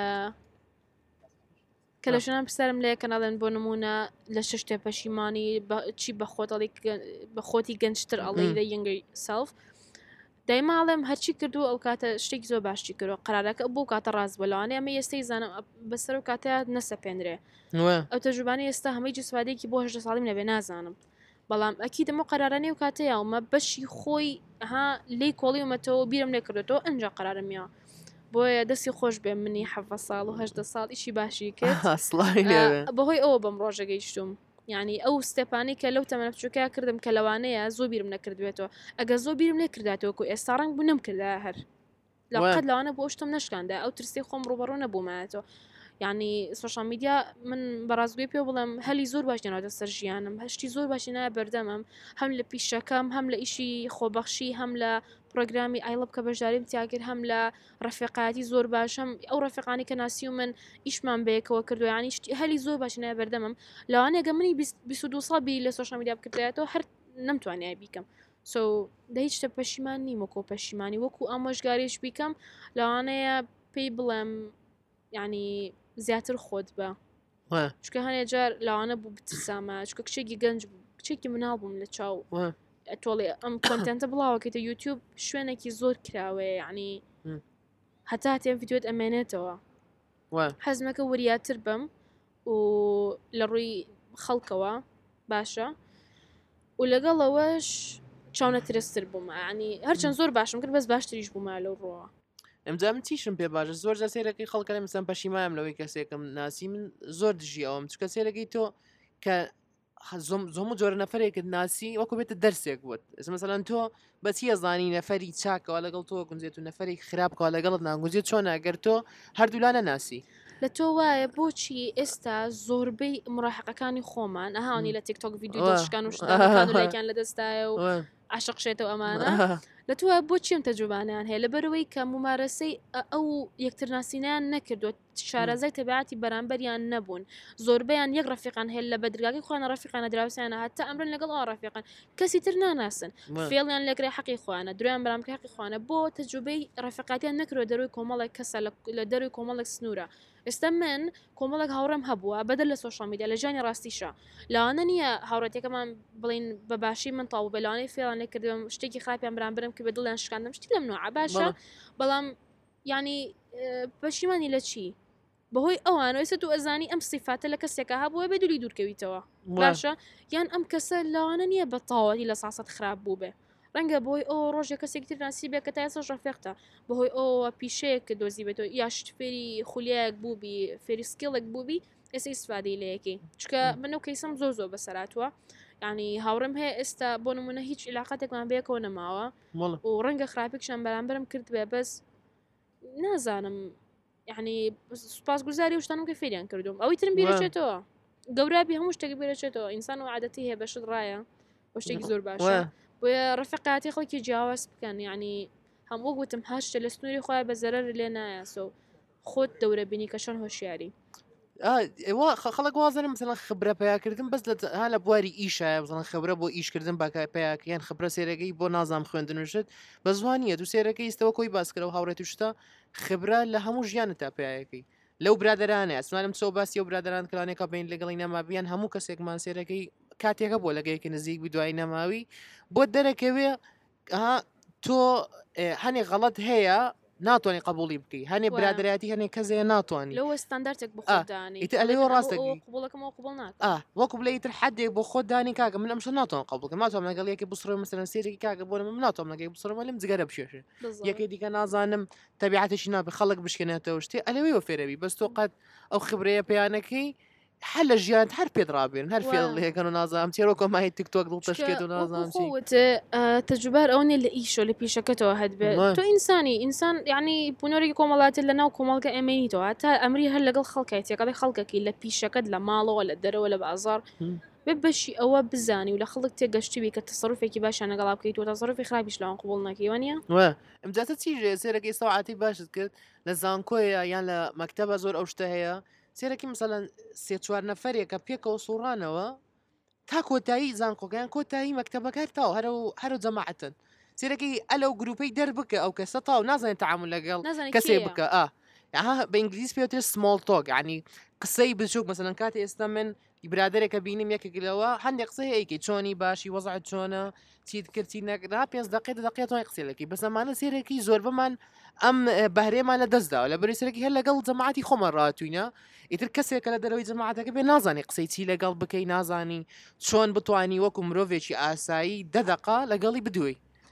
کە لە شوێنان پرسیارم لێ کەناڵێن بۆ نمونە لە شش شتێ پەشیمانی چی بە خۆتەڵی بە خۆتی گەنجتر ئەڵی لە یەنگری سەلف دایماڵێم هەرچی کردو ئەو کاتە شتێکی زۆر باشی کردو قەرارەکە بۆ کاتە ڕاست بەلەوانێ ئەمە ئێستای زانم بەسەر و کاتەیە نەسەپێنرێ ئەو تەجوبانەی ئێستا هەمەی جسوادێکی بۆ هەژدە ساڵیم نەبێ نازانم بەڵام ئەکی دەمە قەرارانەی و کاتەیە ومە بەشی خۆی ها لی کۆڵی ومەتەوە بیرم لێ کردێتەوە ئەنج قەرارمیەوە بۆیە دەستی خۆش بێ منی حەڤە ساڵ و هەژدە ساڵ ئیشی باشی کرد ئەسڵای لێوێ بەهۆی ئەوە بەم ڕۆژە گەیشتوم یعنی ئەو ستێپانی کە لەو تەمەنە بچووکە کردم کە لەوانەیە زۆر بیرم نەکردوێتەوە ئەگە زۆر بیرم لێ کرداتەوەکو ئێستا ڕنگ بوو نەمکردا هەر لەقەت لەوانە بۆ شتم نەشکاندا ئەو ترسی خۆم ڕوبەڕوو نەبوومایەتەوە یعنی سوۆشال میدیا من بەڕازگوی پێ بڵم هەلی زۆر باش نێنەوەتە سەر ژیانم هەشتی زۆر باشی نایە بەردەمم هەم لە پیشەکەم هەم لە ئیشی خۆبەخشی هەم لە پرۆگرامی ئایلب کە بەشداریم تیاکرد هەم لە ڕەفیقاتی زۆر باشم ئەو ڕەفیقانی کە ناسی و من ئیشمان بەیەکەوە کردو ینی هەلی زۆر باشی نایە بەردەمم لەوانەیە گە منی بیست و دوو ساڵ بی لە سوۆشال میدیا بکردایەتەوە هەر نەمتوانێت بیکەم سو دە هیچ شتە پەشیمان نیمەکۆ پەشیمانی وەکو ئامۆژگاریش بیکەم لەوانەیە پێی بڵێم ینی زیاتر خۆت بە چکە هەنێ جار لەوانە بوو بترسامە چکە کچێکی گەنج بوو کچێکی مناڵ بووم لە چاو تۆڵێ ئەم کۆنتنتە بڵاوەکەیتە یوتیوب شوێنێکی زۆر کراوێ ینی هەتا تێم ڤیدیۆت ئەمێنێتەوە حەزمەکە وریاتر بم و لە ڕووی خەڵکەوە باشە و لەگەڵەوەش چاونە ترستر بوومە ینی هەرچەند زۆر باشم کرد بەس باشتریش بوومە لەو ڕۆوە ئەمجام تیشم پێ باشە زۆر جا سێرەکەی خەڵکە مەسەن پەشیمایم لەوەی کەسێکم ناسی من زۆر دژی ئەوم چکە سێرەکەی تۆ کە زۆم جۆرە نەفرێکت ناسی وەکو بێتە دەرسێک بووت مەسەلەن تۆ بەچی ئەزانی نەفەری چاکەوە لەگەڵ تۆ گونجێت و نەفەری خراپکەوە لەگەڵت ناگونجێت چۆن ئەگەر تۆ هەردوولانە ناسی لە تۆ وایە بۆچی ئێستا زۆربەی مڕاحقەکانی خۆمان ئەهاونی لە تیکتۆک ڤیدیۆ دەشکان و شتەکان لە دەستایە و عاشقشێتەوە ئەمانە لە تۆ بۆ چیم تەجوبانیان هەیە لەبەرەوەی کە ممارەسەی ئەو یەکترناسینیان نەکردووە شارەزای تەبیعاتی بەرامبەریان نەبوون زۆربیان یەک ڕەفیقان هەیە لە بەدرگاکی خۆیان ڕەفیقانە دراوسیانە هەتا ئەمرن لەگەڵ ئەو ڕەفیقان کەسی تر ناناسن فێڵیان لەگرێ حەقی خوانە درویان بەرامکە حەقی خوانە بۆ تەجوبەی ڕەفیقاتیان نەکردوە دەروی کۆمەڵێک کەسە لە دەروی کۆمەڵێک سنوورە ئێستا من کۆمەڵک هاوڕێم هەبووە بەدەر لە سۆشال میدیا لە ژانی ڕاستیشە لەوانە نییە هاوڕەتەکەمان بڵین بە باشی من تاو بەلانەی فێڵان لێکردم شتێکی خراپیان بەرامبرم کە بە دڵیان شکاندم شتی لەم نوعە باشە بەڵام ینی پەشیمانی لە چی بەهۆی ئەوان ئێستا تو ئەزانی ئەم سیفاتە لە کەسێکە هەبووە بێ دووری دوورکەویتەوە باشە یان ئەم کەسە لەوانە نییە بە تاوەتی لە ساسەت خراپ بوو بێ ڕەنگە بۆی ئەو ڕۆژێک کەسێکتر ناسی بێ کە تا ئێستا ڕەفیقتە بەهۆی ئەوە پیشەیەک دۆزی بێتەوە یاشت فێری خولیایەک بووبی فێری سکیڵێک بووبی ئێستا ئیسفادەی لەیەکی چکە من ئەو کەیسم زۆر زۆر بەسەراتوە ینی هاوڕێم هەیە ئێستا بۆ نمونە هیچ علاقاتێکمان بەیەکەوە نەماوە و ڕەنگە خراپێکشان بەرامبرم کرد بێ بەس نازانم یعنی سوپاس گوزاری شتانم کە فێریان کردوم ئەوەی ترم بیرەچێتەوە گەورابی هەموو شتێکی بێرەچێتەوە ئینسان و عادەتی هەیە بەشت ڕایە بۆ شتێکی زۆر باشە بۆیە ڕەفیقاتی خەڵکی جیاواز بکەن یعنی هەموو گوتم هەشتە لە سنووری خۆی بە زەرەر لێ نایە سۆ خۆت دەورە بینی کە چۆن هۆشیاری خەڵک وازانم مثلا خبرە پیاکردن بەس ها لە بواری ئیشە مثلا خبرە بۆ ئیشکردن باکە پیاکیان خبرە سێرەکەی بۆ نازام خوێندنوشت بە زوانیە دوو سێرەکەی ئستەوە کۆی باسکرەوە هاوڕێت شتە خبرە لە هەموو ژیانە تا پیاەکەی لەو برادرانە ئەسمانم چۆ باسی و برادران کلانێکە بین لەگەڵی نەمابیان هەموو کەسێکمان سێرەکەی کاتێکە بۆ لەگەیەکی نزیک بی دوای نەماوی بۆ دەرەکەوێ تۆ هەنێ غەڵەت هەیە ناتوانانی قبولی بکەی هەنێ برادایەتی هەنێ کەسێ ناتوانانی لەوە ستاندارتێک بخۆدانی ئەلەوە ڕاستە قبولەکەمەوە قبول ناکە وەکو بڵێتر حدێک بۆ خۆدانی کاکە من ئەمش ناتوان قبولکە ناتوانم لەگەڵ یەکی بسڕۆ مەسەرەن سێرێکی کاکە بۆ من ناتوانم لەگەی بسڕۆمە لەم جگەرە بشێشێ یەکێ دیکە نازانم تەبیعەتێکی نابێ خەڵک بشکێنێتەوە شتێ ئەلەوەی فێرەوی بەس تۆ قەت ئەو خبرەیە پەیانەکەی هەر لە ژیان هەر پێدرابێن هەر فێڵەکەن و نازانم چێرۆ کۆمای تیکتۆک دڵ تەشکێت و نازانم تەجوبار ئەوەیە لە ئیشۆ لە پیشەکەتەوە هەدبێت تۆ ئینسانی ئینسان یعنی بوونەوەی کۆمەڵاتی لە ناو کۆمەڵگە ئەمێنیتەوە تا ئەمری هەر لەگەڵ خەڵکای تێکەڵی خەڵکەکی لە پیشەکەت لە ماڵەوە لە دەرەوە لە بازار بێ بەشی ئەوە بزانی و لە خەڵک تێگەشتوی کە تەسەڕوفێکی باشیان لەگەڵا بکەیت و تەسەڕوفی خراپیش لەوان قبول ناکەیوە نیە ئەمجاتە چیژێ سێرەکەی سەعاتی باشت کرد لە زانکۆیە یان لە مەکتەبە زۆر ئەو شتە هەیە سێرەکی مثلەن سێ چوار نەفرێکە پێکەوە سوڕانەوە تا کۆتایی زانکۆگەیان کۆتایی مەکتەبەکە تاو هەرو جەماعەتن سێرەکەی ئەلەو گروپەی دەربکە ئەو کەسە تاو نازانێت تعامل لەگەڵ کەسێ بکە ئا بە ئینگلیز پێوتر سمۆڵ تۆک ینی قسەی بچووک مەسەلەن کاتی ئێستا من برادێکە بینیم یەکێکلەوە هەندێک قسەی ئەیکەی چۆنی باشی وەزعت چۆنە چیت کردی نەکرا پێنج دقیقە دقیقەوەی قسێلەکەی بەس ئەمانە سێرەکی زۆر بمان ئەم بەهرێمان لە دەستداوە لە بەری سەرەکی هەر لەگەڵ جەماعەتی خۆمە ڕاتوینە ئیتر کەسێکە لە دەرەوەی جەماعەتەکە بێ نازانی قسەی چی لەگەڵ بکەی نازانی چۆن بتوانی وەکو مرۆڤێکی ئاسایی دە دەقا لەگەڵی بدوێی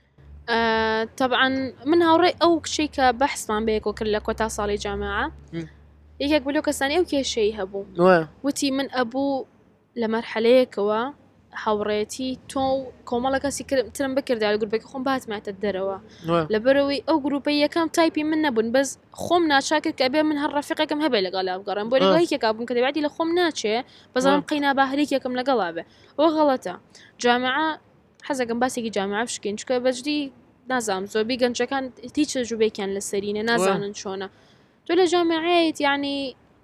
آه طبعا من هاوڕێ ئەو شەی کە بەحسمان بەیەکەوە کرد لە کۆتا ساڵی جامعە یەکێک بلو کەسانی ئەو کێشەی هەبوو وتی من ئەبوو لە مەرحەلەیەکەوە هاوڕێتی تۆ کۆمەڵە کەسی ترم بکردا لە گروپێکی خۆم باتماتە دەرەوە لەبەرەوەی ئەو گروپی یەکەم تایپی من نەبوون بەس خۆم ناچاکرد کە بێ من هەر ڕەفیقەکەم هەبێ لەگەڵا بگەڕم بۆ لەگەڵێکێکا بووم کە دەبێتی لە خۆم ناچێ بەزانم قەینا باهەرێکێکم لەگەڵا بێ ئەوە غەڵەتە جامعە حەزەکەم باسێکی جامعە بشکین چکە بەجدی نازام زۆربەی گەنجەکان هیچ تەجروبەیەکیان لەسەرینە نازانن چۆنە تۆ لە جامعەیەت یعنی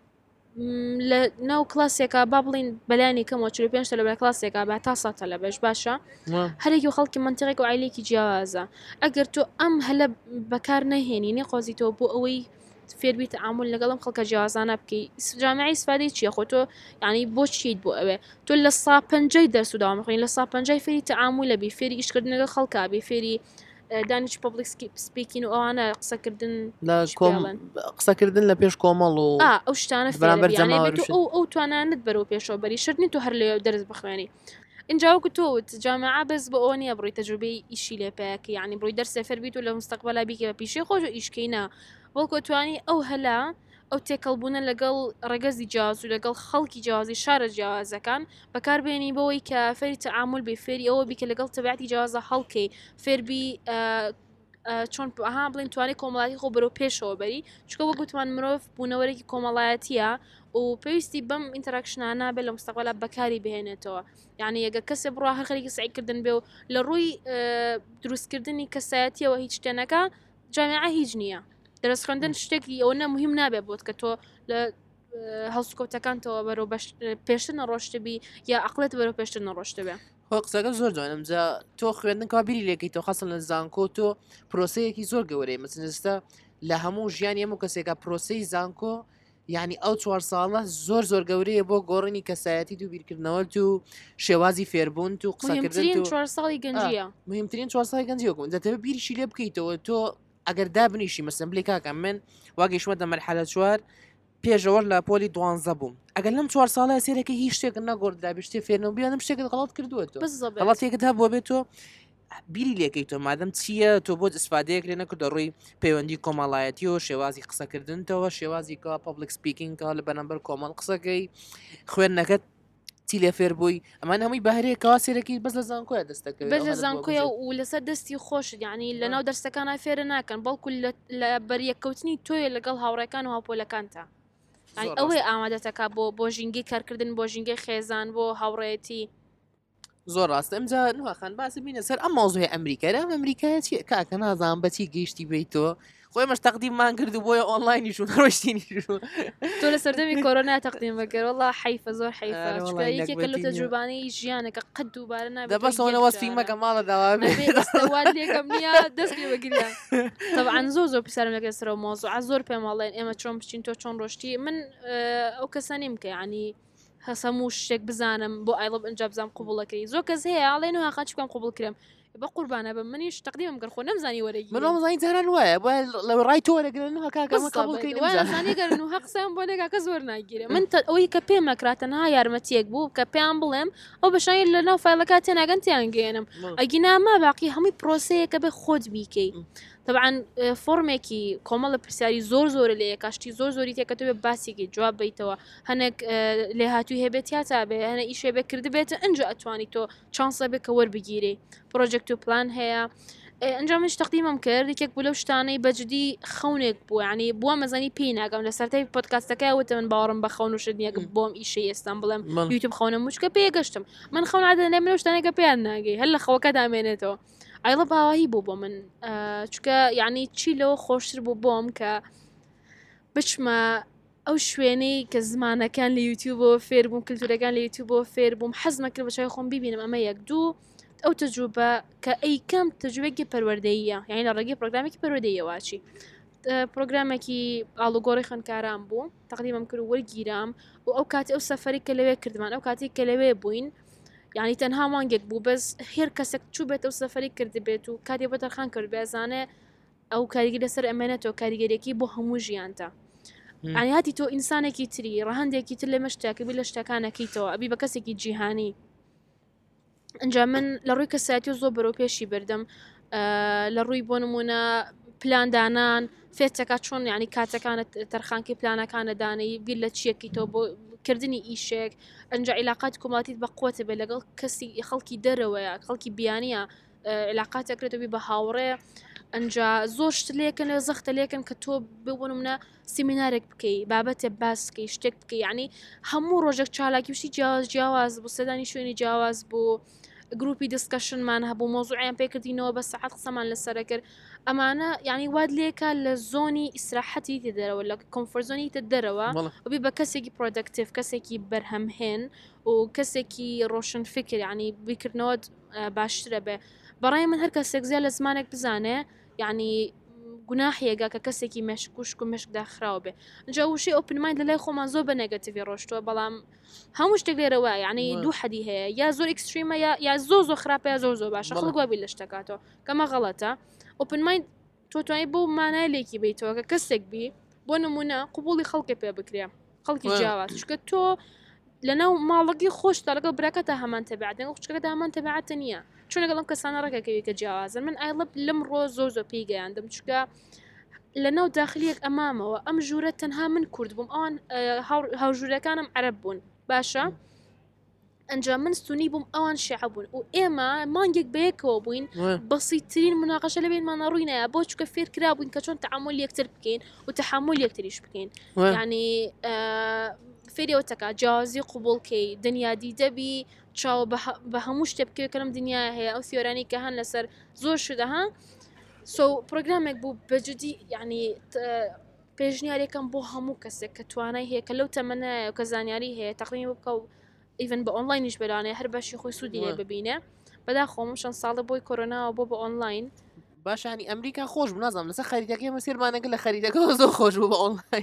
لە ناو کلاسێکە با بڵین بەلایانی کەمەوە چل و پێنج لە بە کلاسێکە با تا ساتە لە بەش باشە هەرێکی و خەڵکی منتیقێک و عیلێکی جیاوازە ئەگەر تۆ ئەم هەلە بەکار نەهێنینی قۆزیتەوە بۆ ئەوەی فێربی تعامل لەگەڵم خەڵکە جیاوازانە بکەی جامعی سفادەی چییە خۆ تۆ یعنی بۆ چیت بۆ ئەوێ تۆ لە سا پەنجەی دەرس و داوام خوێنی لە سا پەنجەی فێری تعامل لەبی فێری ئیشکردن لەگەڵ خەڵکا بێ فێری دانیش پبلیک سپیکین و ئەوانە قسەکردن لە قسەکردن لە پێش کۆمەڵ و ئەو شتانە ئەو ئەو توانانت بەرەو پێشەوە بەری شردنی تو هەر لێ دەرس بخوێنی اینجاوەکو تۆ جامعە بەس بە ئەوە نیە بڕی تەجروبەی ئیشی لێپەیەکە یعنی بڕی دەرسێ فەربیت و لە مستەقبەلا بیکە بە پیشەی خۆش و ئیشکەینە بەڵکو توانی ئەو هەلا ئەو تێکەڵبوونە لەگەڵ ڕێگەزی جیاواز و لەگەڵ خەڵکی جیاوازی شارە جیاوازەکان بەکاربێنی بەوەی کە فێری تەعامل بێ فێری ئەوە بیکە لەگەڵ تەبیعەتی جیاوازە هەڵکەی فێربی چۆن ئەها بڵین توانی کۆمەڵایەتی خۆ بەرەو پێشەوە بەری چکە وە گوتمان مرۆڤ بوونەوەرێکی کۆمەڵایەتیە و پێویستی بەم ئینتەراکشنانە بێت لە مستەقبەلا بەکاری بهێنێتەوە یعنی ئەگە کەسێ بڕوا هەر خەریکی سعیکردن بێ و لە ڕووی دروستکردنی کەسایەتیەوە هیچ شتێنەکە جامعە هیچ نییە دەرس خوێندن شتێکی ئەوە مهم نابێت بۆت کە تۆ لە هەڵسکۆتەکانتەوە بەرەو پێشتر نەڕۆشتبی یا عقلێت بەرەو پێشتر نەڕۆشتبێ قسەکە زۆر جوانم جا تۆ خوێندن کابیری لێکەی تۆ خەسن لە زانکۆ تۆ پرۆسەیەکی زۆر گەورەی مەسنجستە لە هەموو ژیانی هەموو کەسێکە پرۆسەی زانکۆ یعنی ئەو چوار ساڵە زۆر زۆر گەورەیە بۆ گۆڕنی کەسایەتی و بیرکردنەوە و شێوازی فێربوون و قسەکردن چوار ساڵی گەنجیە مهمترین چوار ساڵی گەنجیەکەم دەتەوێت بیریشی لێ بکەیتەوە تۆ ئەگەر دابنیشی مەسن بڵێ کاکە من واگەیشمە دە مەرحەلە چوار پێشەوە لە پۆلی دوانزە بووم ئەگەر لەم چوار ساڵە سێرەکە هیچ شتێک نەگۆڕدا بێ شتێ فێرنەوە بیانم شتێکت غەڵەت کردووەتەوە غەڵەتێکت هەبووە بێت تۆ بیری لێکەی تۆ مادەم چییە تۆ بۆ ئیسفادەیەک لێ نەکردە ڕووی پەیوەندی کۆمەڵایەتی و شێوازی قسەکردنەوە شێوازی کە پبلیک سپیکینگ لە بەرامبەر کۆمەڵ قسەکەی خوێندنەکەت چی لێ فێر بووی ئەمان هەمووی بەهرەیەکەوە سێرەکی بەس لە زانکۆیە دەستەکەوێت بەس لە زانکۆیە و لەسەر دەستی خۆشت یعنی لە ناو دەرسەکانە فێرە ناکەن بەڵکو لە بەریەکەوتنی تۆیە لەگەڵ هاوڕێکان و هاوپۆلەکانتە ئەوەی ئامادەتەکە بۆ بۆ ژینگی کارکردن بۆ ژینگی خێزان بۆ هاوڕێتی زۆر ڕاستە ئەمجا نوخان باسی بینە سەر ئەم مۆزوی ئەمریکا ئەم ئەمریکای کاکە نازان بەچی گەیشتی بیتەوە خۆی مەش تەقدیممان کرد و بۆیە ئۆنلاینیشون ڕۆشتینیشون تۆ لە سەردەمی کۆرۆنا تەقدیم بەکەر وڵا حیفە زۆر حیفە یەکێکە لە تەجروبانەی ژیانەکە قەت دووبارە نابێت دەبەسەوە وەسفیمەکە ماڵە داوا لێکم نییە دەستی بەگریان طبعاً زۆر زۆر پیسارم لەگەر سەرەوە مۆزوع زۆر پێم وڵێن ئێمە چۆن بچین تۆ چۆن ڕۆشتی من ئەو کەسانیم کە ینی هەسەموو شتێک بزانم بۆ ئایڵب ئەنج بزانام قوبڵەکەی زۆر کەس هەیە ئاڵێن و هاقاچ بکەم قوبڵ کرێم بە قوربانە بە منیش تەقدیمم گەر خۆ نەمزانی وەرەگی من نەمزانی جاران وایە لە ڕای تۆ وەرەگرن و کاکەمە قبولکەی گەرن و حەقسەم بۆ لێگاکە زۆر ناگیرێ من ئەوەی کە پێم مەکراتەنها یارمەتیەک بوو کە پێیان بڵێم ئەو بەشانی لە ناو فایلەکە تێناگەن تیان گەێنم ئەگیناما باقی هەمووی پرۆسەیەکە بێ خۆت بیکەی طبعاً فۆرمێکی کۆمەڵە پرسیاری زۆر زۆر لێ کاشتی زۆر زۆری تێکەتە بێ باسێکی جواب بیتەوە هەنێک لێ هاتووی هەبێت یا تا بێ هەنە ئیشێ بێ کرد بێتە ئەنج ئەتوانی تۆ چانسە بێ کە وەربگیرێ پرۆژێکت و پلان هەیە ئەنجامش تەقدیمم کرد یەکێک بوو لەو شتانەی بەجددی خەونێک بوو ینی بووە مەزانی پێی ناگەم لە سەرای پۆدکاستەکە وتە من باوەڕم بە خەون و شتنیەک بۆم ئیشەی ئێستان بڵێم یوتیوب خەونە موچکە پێگەشتم من خەون عادە نێ شتانێکە پێیان ناگەی هەر لە خەوەکە دامێنێتەوە ئایڵە باوایی بوو بۆ من چکە یعنی چی لەوە خۆشتر بوو بۆم کە بچمە ئەو شوێنەی کە زمانەکان لە یوتیوبەوە فێر بووم کللتورەکان لە یوتیوبەوە فێر بووم حەزمە کرد بەچای خۆم ببینم ئەمە یەک دوو ئەو تەجروبە کە ئەیکەم تەجوبێکی پەروەردەیە یعنی لە ڕێگەی پرۆگرامێکی پەروەردەیەواچی پرۆگرامێکی ئاڵوگۆڕی خوێندکاران بوو تەقدیمم کرد وەرگیرام و ئەو کاتی ئەو سەفەری کە لەوێ کردمان ئەو کاتی کە لەوێ بووین یعنی تەنها مانگێک بوو بەس هێر کەسێک چوو بێت ئەو سەفەری کردی بێت و کاتی بە دەرخان کرد بێزانێ ئەو کاریگەری لەسەر ئەمێنێتەوە کاریگەریەکی بۆ هەموو ژیانتە ینی هاتی تۆ ئینسانێکی تری ڕەهندێکی تر لێمە شتێکبی لە شتەکانەکەیتەوە ئەبی بە کەسێکی جیهانی ئەنجا من لە ڕووی کەسایەتی و زۆر بەرەو پێشی بردم لە ڕووی بۆ نمونە پلاندانان فێچەکە چۆن یعنی کاتەکانت تەرخانکی پلانەکانە دانەی بیر لە چیەکی تۆ بۆ کردنی ئیشێک ئەنج عیلاقات کۆماتیت بە قوتە بێ لەگەڵ کەسی خەڵکی دەرەوەیە خەڵکی بیانیە علاقاتەکرێتەوە بە هاوڕێ ئەنجا زۆر شت لێکن لە زەختە لێکن کە تۆ ببوون منە سیمینارێک بکەی بابەتێ باسکەی شتێک بکەی ینی هەموو ڕۆژێک چالاکی وشتی جیاواز جیاواز بوو سەدانی شوێنی جیاواز بوو گروپی دیسکشنمان هەبوو مۆزوعیان پێکردینەوە بە سەعات قسەمان لەسەرە کرد ئەمانە یعنی واد لێکە لە زۆنی ئیسراحەتی تە دەرەوە لە کۆمفۆرزۆنی تە دەرەوە وبی بە کەسێکی پرۆدەکتیڤ کەسێکی بەرهەمهێن و کەسێکی ڕۆشن فکر ینی بیکردنەوە باشترە بێ بەڕای من هەر کەسێک زیاد لە زمانێک بزانێ یعنی گوناحیەگە کە کەسێکی مێشکوشک و مشکدا خراوە بێ جا وشی ئۆپنمایند لە لای خۆمان زۆر بە نێگەتیڤی ڕۆشتووە بەڵام هەموو شتێک لێرەوە یعنی دوو حەدی هەیە یا زۆر ئەکستریمە یا زۆر زۆر خراپە یا زۆر زۆر باشە خەڵک وابی لە شتەکاتەوە کەمە غەڵەتە ئۆپنمایند تۆ توانی بۆ مانای لێکی بیتەوە کە کەسێک بی بۆ نمونە قوبوڵی خەڵکی پێ بکرێ خەڵکی جیاواز چکە تۆ لەناو ماڵەکی خۆشتا لەگەڵ براکەتە هەمان تەبیعەت لەگەڵ خوشکەکەتە هەمان تەبیعەتە نییە چۆن لەگەڵ ئەم کەسانە ڕێگەکەوی کە جیاوازن من ئایڵب لەم ڕۆ زۆر زۆر پێی گەیاندم چکە لە ناو داخلیەک ئەمامەوە ئەم ژوورە تەنها من کورد بووم ئەوان هاوژوورەکانم عەرەب بوون باشە ئەنجا من سونی بووم ئەوان شیعە بوون و ئێمە مانگێک بەیەکەوە بووین بەسیترین مناقەشە لەبێنمانە ڕووی نایە بۆ چکە فێر کرا بووین کە چۆن تەعامل یەکتر بکەین و تەحمل یەکتریش بکەین یعنی فێریەوە تەکا جیاوازی قوبوڵکەی دنیادی دەبی چاو بە هەموو شتێ بکەوێت کەم دنیا هەیە ئەو سیۆرانی کە هەن لەسەر زۆر شدەها سو پرۆگرامێک بوو بەجددی یعنی پێشنیارێکم بۆ هەموو کەسێک کە توانای هەیە کە لەو تەمەنایە کە زانیاری هەیە تەقریبی بکە و ئیڤن بە ئۆنلاینیش بەرانێ هەر بەشی خۆی سوودی لێ ببینێ بەدا خۆم چەند ساڵە بۆی کۆرۆناوە بۆ بە ئۆنلاین باشانی ئەمریکا خۆش بوو نازانم لەسەر خەریدەکەی مەسیرمانەگە لە خەریدەکەەوە زۆر خۆش بوو بە ئۆنلاین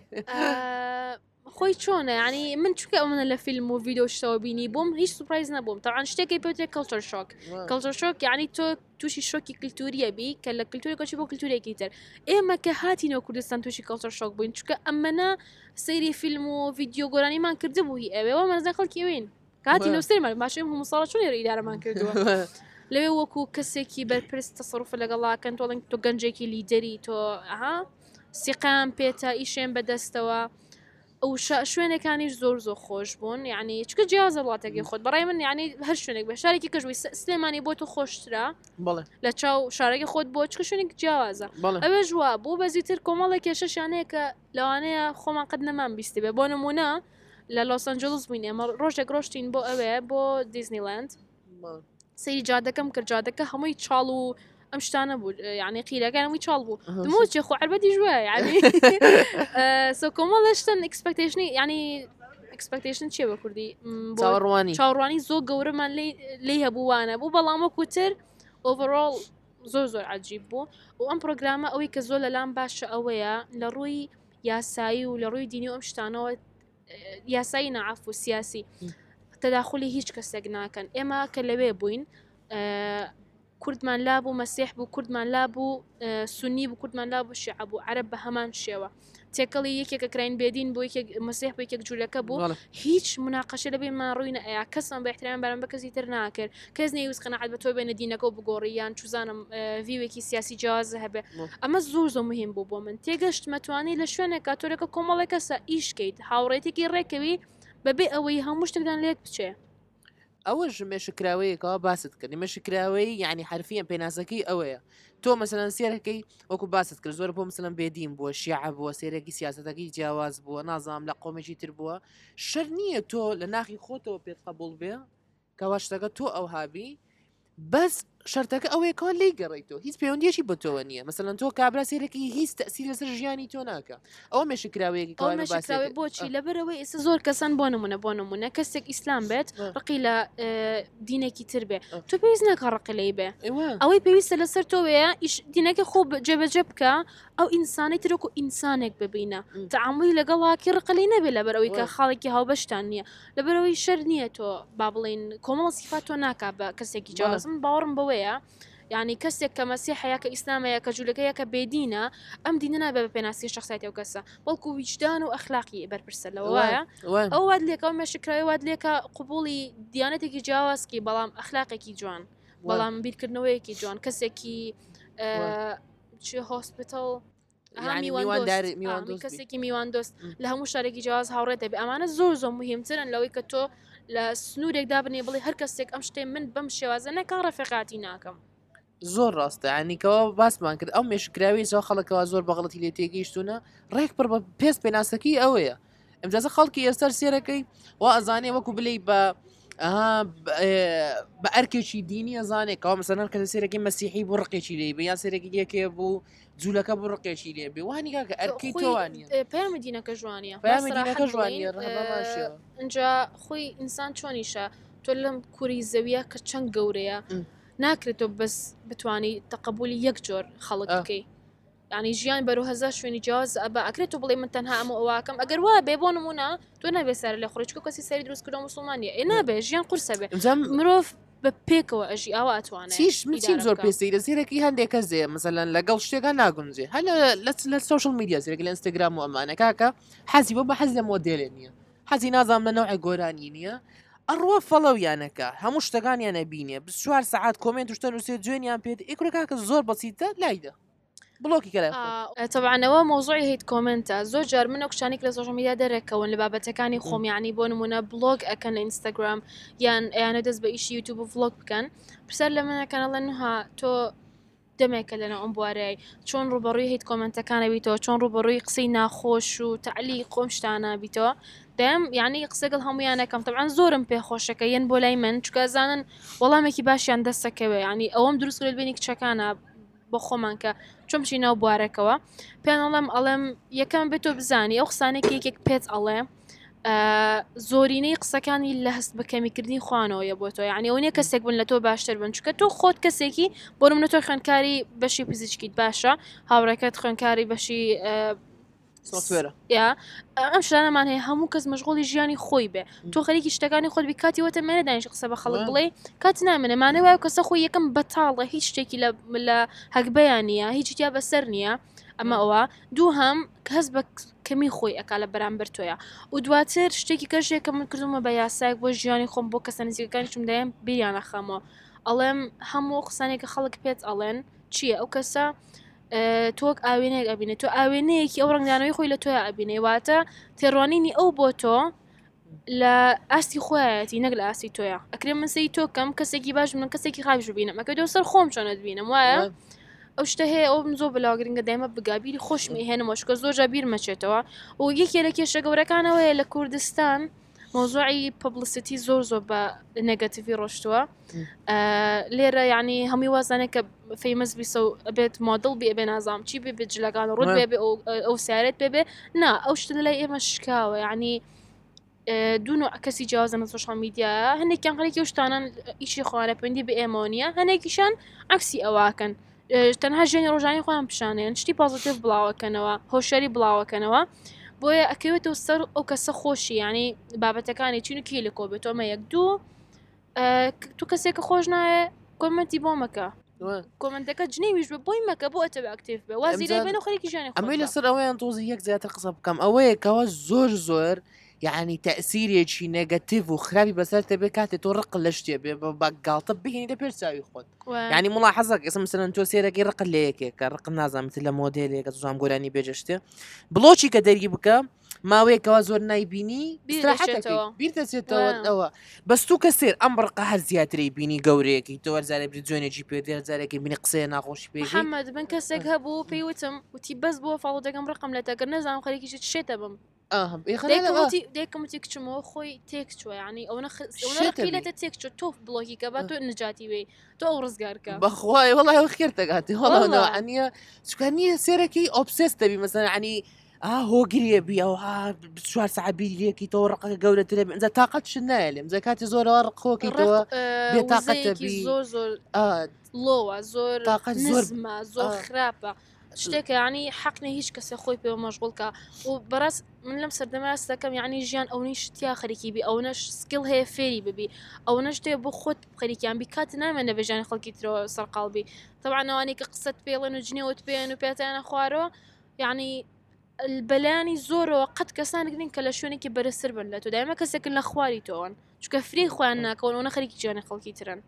خۆی چۆنە ینی من چکە ئەو منە لە فیلم و ڤیددیۆ شتەوە بینی بووم هیچ سوپرایز نەبووم تاوان شتێکی پێوتێک کەلچەر شۆک کەلچەر شۆک یعنی تۆ تووشی شۆکی کللتوریە بی کە لە کللتوری کۆچی بۆ کللتورێکی تر ئێمە کە هاتینەوە کوردستان تووشی کەلچەر شۆک بووین چکە ئەمەە سەیری فیلم و ڤیددیۆ گۆرانیمان کرده بووی ئەوێەوە مەزە خەڵکی وین کاتی نووسێمان باشم هەموو ساڵە چۆن ئیدارەمان کردووە لەوێ وەکو کەسێکی بەرپرس تەسەڕوف لەگەڵاکەن تۆڵنگ تۆ گەنجێکی لیدەری تۆ ئەها سیقام پێتە ئیشێن بەدەستەوە ئەو شوێنەکانیش زۆر زۆر خۆش بوون یعنی چکە جیازە وڵاتێکی خۆت بەڕای من یعنی هەر شوێنێک بە شارێکی کەژوی سلێمانی بۆ تو خۆشترا لە چاو شارێکی خۆت بۆ چکە شوێنێک جیاوازە ئەوێ ژوا بوو بەزیتر کۆمەڵێک کێشەشانەیە کە لەوانەیە خۆمان قەت نەمان بیستی بێ بۆ نمونە لە لۆس ئەنجلس بووین ئێمە ڕۆژێک ڕۆشتین بۆ ئەوێ بۆ دیزنیلند سەیری جادەکەم کرد جادەکە هەمووی چاڵ و ئەم شتانە بوو یعنی قیرەکانەوەی چاڵ بوو دموچێ خۆ عربەتی ژوە یعنی سۆ کۆمەڵشتن ئەکسپەکتیشنی ینی ئەکسپەکتیشن چیە بە کوردی چاوەڕوانی چاوەڕوانی زۆر گەورەمان لێ هەبووانە بوو بەڵام وەکوتر ئۆڤڕۆڵ زۆر زۆر عجیب بوو و ئەم پرۆگرامە ئەوەی کە زۆر لەلام باشە ئەوەیە لە ڕووی یاسایی و لە ڕووی دینی و ئەم شتانەوە یاسایی نەعاف و سیاسی تەداخلی هیچ کەسێک ناکەن ئێمە کە لەوێ بووین کوردمان لابوو مەسیح بوو کوردمان لابوو سونی بوو کوردمان لابوو شیعە بوو عەرەب بە هەمان شێوە تێکەڵی یەکێکە کراین بێدین بۆ مەسیح بۆ یەکێک جوولەکە بوو هیچ مناقەشە لەبێمان ڕووینە ئەیا کەسم بە احترام بەرەم بە کەسی تر ناکرد کەس نەیویست قەنەعەت بە تۆ بێنە دینەکە و بگۆڕیان چوزانم ڤیوێکی سیاسی جیازە هەبێ ئەمە زۆر زۆر مهم بوو بۆ من تێگەشت مەتوانی لە شوێنێکە تۆرەکە کۆمەڵێک کەسە ئیشکەیت هاوڕێتێکی ڕێکەوی بەبێ ئەوەی هەموو شتێکدان لێک بچێ ئەوەش مێشکراوەیەکەوە باست کردی مەشکراوەی یعنی حرفیان پێناسەکەی ئەوەیە تۆ مەسەلەن سێرەکەی وەکو باست کرد زۆر بۆ مثلەن بێدین بووە شیعە بووە سێرەکی سیاسەتەکەی جیاواز بووە نازام لە قۆمێکی تر بووە شەر نییە تۆ لە ناخی خۆتەوە پێت قبول بێ کەوا شتەکە تۆ ئەو هابی بەس شەرتەکە ئەوەیەکەوە لی گەڕێیتەوە هیچ پەیوەندیەکی بە تۆوە نییە مەسەلەن تۆ کابرا سێرەکی هیچ تەسیر لەسەر ژیانی تۆ ناکە ئەوە مێشکراوەیەکی بۆچی لەبەرەوەی ئێستا زۆر کەسان بۆ نمونە بۆ نمونە کەسێک ئیسلام بێت ڕقی لە دینێکی تر بێ تۆ پێویست ناکە ڕقی لی بێ ئەوەی پێویستە لەسەر تۆوەیە دینەکە خۆ جێبەجێ بکە ئەو ئینسانی ترۆکو ئینسانێک ببینە تەعاملی لەگەڵاکی ڕقلی نەبێ لەبەرەوەی کە خاڵێکی هاوبەشتان نییە لەبەرەوەی شەر نییە تۆ با بڵین کۆمەڵ سیفات تۆ ناکا بە کەسێکی جیاوازم باوەڕم بەوەیە یعنی کەسێک کە مەسیحەیە کە ئیسلامەیە کە جوولەکەیە کە بێدینە ئەم دینە نابێ بە پێناسی شخصیەتی و کەسە بەڵکو ویجدان و ئەخلاقی بەرپرسە لەوەیە ئەو واد لێکەوە مێشکراوی واد لێکە قوبوڵی دیانەتێکی جیاوازکی بەڵام ئەخلاقێکی جوان بەڵام بیرکردنەوەیەکی جوان کەسێکی چی هۆسپیتال يعني میوان داری میوان دۆست کەسێکی میوان دۆست لە هەموو شارێکی جیاواز هاوڕێ دەبێ ئەمانە زۆر زۆر مهمترن لەوەی کە تۆ لە سنوورێکدا بنێ بڵێ هەر کەسێک ئەم شتێ من بەم شێوازە نەکان ڕەفیقاتی ناکەم زۆر ڕاستە عنیکەوە باسمان کرد ئەو مێشکراوی زۆر خەڵکەوە زۆر بەغڵەتی لێ تێگەیشتونە ڕێک پڕ بە پێست پێناسەکەی ئەوەیە ئەمجازە خەڵکی ئێستەر سێرەکەی وا ئەزانێ وەکو بلەی بە ئەها بە ئەرکێکی دینی ئەزانێکەوە مەسەلەن کە سێرەکەی مەسیحی بۆ ڕقێکی لێ بە یان سێرەکی دیەکێ بوو جوولەکە بۆ ڕقێکی لێ بێ وانی کاکە ئەرکەی تۆوانە پەیامی دینەکە جوانیە پەیامی دینەکە جوانیە ڕەهەماماشیەوە اینجا خۆی ئینسان چۆنیشە تۆ لەم کوری زەویە کە چەند گەورەیە ناکرێتەوە بەس بتوانی تەقبولی یەک جۆر خەڵک بکەی ینی ژیان بەرو هەزار شوێنی جیاواز ئەبە ئەکرێتەوە بڵێ من تەنها ئەمە ئەوواکەم ئەگەر وا بێ بۆ نمونە تۆ نابێ سەر لە خۆرچکە کەسی سەری دروست کردو مسلمانیە ئێ نابێ ژیان قورسە بێ مرۆڤ بە پێکەوە ئەژی ئاوا ئەتوانێت چیش چیم زۆر پێستی لە زیرەکی هەندێکە زێ مەسەلەن لەگەڵ شتێکە ناگونجێ هەل لە سوشل میدیا زیرەکە لە ئینستاگرام و ئەمانە کاکە حەزی بۆ بە حەز لە مۆدێلێ نییە حەزی نازام لە نەوعی گۆرانی نییە ئەڕوە فەڵەویانەکە هەموو شتەکانیانە بینێ ب چوار سەعات کۆمنت شتە نووسێ جوێنیان پێێت ئیکڕ کاکە زۆر بەسیتە لایدە بڵۆکی کە تەبعانەوە مۆزوعی هیت کۆمنتە زۆر جار منە کشانێک لە سۆشل میدیا دەرەکەون لە بابەتەکانی خۆمیانی بۆ نمونە بلۆگ ئەکەن لە ئینستاگرام یان ئەیانە دەست بە ئیشی یوتیوب و ڤلۆگ بکەن پرسەر لە منەکەنەڵێن نوها تۆ دەمێکە لەنە ئەم بوارەی چۆن ڕوبەڕووی هیت کۆمنتەکانە بیتەوە چۆن ڕوبەڕووی قسەی ناخۆش و تعلی خۆم شتانە بیتەوە دەم یعنی قسەگەڵ هەمویانەکەم تەبعاً زۆرم پێخۆشەکە یەن بۆ لای من چکە زانن وەڵامێکی باشیان دەستەکەوێ ینی ئەوەم دروست کرد بینی کچەکانە بۆ خۆمان کە چۆم چی ناو بوارەکەوە پێیان ئەڵێم ئەڵێم یەکەم بێتۆ بزانی ئەو قسانێکی یەکێک پێت ئەڵێ زۆرینەی قسەکانی لە هەست بەکەمیکردنی خوانەوەیە بۆ تۆ یعنی ئەو نیە کەسێک بن لە تۆ باشتر بن چکە تۆ خۆت کەسێکی بۆ منە تۆ خوێندکاری بەشی پزیشکیت باشە هاوڕێکەت خوێندکاری بەشی سۆفتوێرە یا ئەم شتانەمان هەیە هەموو کەس مەشغوڵی ژیانی خۆی بێ تۆ خەریکی شتەکانی خۆت بی کاتی وەتە مێنە دانیش قسە بە خەڵک بڵێ کات نامێنەمانە وایە کەسە خۆی یەکەم بەتاڵە هیچ شتێکی لە هەکبەیان نییە هیچیا بەسەر نییە ئەمە ئەوە دوو هەم کەس بە کەمی خۆی ئەکا لە بەرامبەر تۆیە و دواتر شتێکی کەژێکە من کردومە بە یاسایك بۆ ژیانی خۆم بۆ کەسە نزیکەکانی چم دایم بیریانە خەمەوە ئەڵێم هەموو قسانێکە خەڵک پێت ئەڵێن چییە ئەو کەسە تۆک ئاوێنەیەک ئەبینێت تۆ ئاوێنەیەکی ئەو ڕنگدانەوەی خۆی لە تۆی ئەبینێ واتە تێڕوانینی ئەو بۆ تۆ لە ئاستی خۆیەتی نەک لە ئاستی تۆیە ئەکرێ من سەی تۆ کەم کەسێکی باش من کەسێکی خاش ببینم ئەکە دۆ سەر خۆم چۆنت بینم وایە ئەو شتە هەیە ئەو زۆر بەلاگرنگە دایمە بگابیری خۆشمی هێنمەوە شکە زۆر جا بیر مەچێتەوە و یەکێ لە کێشە گەورەکانەوەیە لە کوردستان مۆزوعی پبلیسیتی زۆر زۆر بە نێگەتیڤی ڕۆشتووە لێرە یعنی هەمووی وازانێک کە فەیمەس بیسە و ئەبێت مۆدڵ بێ بێ نازام چی بێ بێت جلەکان ڕوت بێ بێ ئەو سیارێت بێ بێ نا ئەو شتە لای ئێمە شکاوە یعنی دوو نوع کەسی جیاوازن لە سۆشال میدیایە هەندێکیان خەڵکی ئەو شتانان ئیشی خۆوانە پەیوەندی بە ئێمەوە نییە هەندێکیشان عەکسی ئەواکەن تەنها ژیانی ڕۆژانی خۆیان پیشانێن شتی پازیتیڤ بڵاوەکەنەوە هۆشیاری بڵاوەکەنەوە بۆیە ئەکەوێتەوە سەر ئەو کەسە خۆشی ینی بابەتەکانی چین و کی لە کۆ بێت ئەمە یەک دوو تو کەسێکە خۆش نایە کۆمنتی بۆ مەکە کۆمنتەکە جنێویش بە بۆی مەکە بۆ ئەتە ئاکتیڤ بێ وازی لێ بێنە خەریکی ژیانی خۆ ئەمەی لەسەر ئەوەیان تۆزی یەک زیاتر قسە بکەم ئەوەیە کەەوە زۆر زۆر یعنی تەسیرێکی نێگەتیڤ و خراپی بەسەر تەبێ کاتێ تۆ ڕق لە شتێ بێ بە گاڵتە بهێنی لە پێرچاوی خۆت ینی مڵا حەزەک ئێستا مثلەن تۆ سێرەکەی ڕق لە یەکێکە ڕق نازانێت لە مۆدێلێکە زۆام گۆرانی بێجە شتێ بڵۆچی کە دەری بکە ماوەیەکەوە زۆر نایبینی بیردەچێتەوە ئەوە بەستوو کە سێر ئەم ڕقە هەر زیاتری بینی گەورەیەکی تۆ وەرزارێ بری جوێنێکی پێ زارێکی بینی قسەیە ناخۆشی پێ محەممەد من کەسێک هەبوو پێیوتم وتی بەس بۆ فاڵ دەگەم ڕقم لە تەگەر نەزانم خەریکیشت شێتە بم دێکمتی کچمەوە خۆی تێک چوە ینی ئەو نەخیلەتە تێک چۆ تۆ بڵۆکی کە بە تۆ نجاتی وێ تۆ ئەو ڕزگارکە بەخوای وڵای ئەو خێر دەگاتی هەڵانیە چکانیە سێرەکەی ئۆبسێس دەبی مەسەن عنی هۆگریە بی ئەو چوار سەعات بیریەکی تۆ ڕقەکە گەورەترە بێ ئەنجا تااقەت شت نایە لێم جە کاتی زۆرەوە ڕقۆکەیتەوە بێتاقەتەبی زۆر زۆر لۆوە زۆر تااقەت زۆر زۆر خراپە شتێکە ینی حەقنە هیچ کەسە خۆی پێوە مەشغوڵکە و بەڕاست من لەم سەردەماس دەکەم یعنی ژیان ئەوەی شتیا خەریکی بی ئەوەش سکیل هەیە فێری ببی ئەوە شتێ بۆ خۆت خەریکیان بی کات نامێنە بەژیانی خەڵکی ترەوە سەرقاڵبی تەبعانەوانی کە قسەت پێڵێن و جنێوت پێێن و پێتیانە خوارەوە یعنی بەلایانی زۆرەوە قەت کەسانێک نین کە لە شوێنێکی بەرزتر بن لە تۆ دایمە کەسێکن لە خواری تۆن چکە فری خۆیان ناکەون ئەوە خەریکی جیانی خەڵکی ترن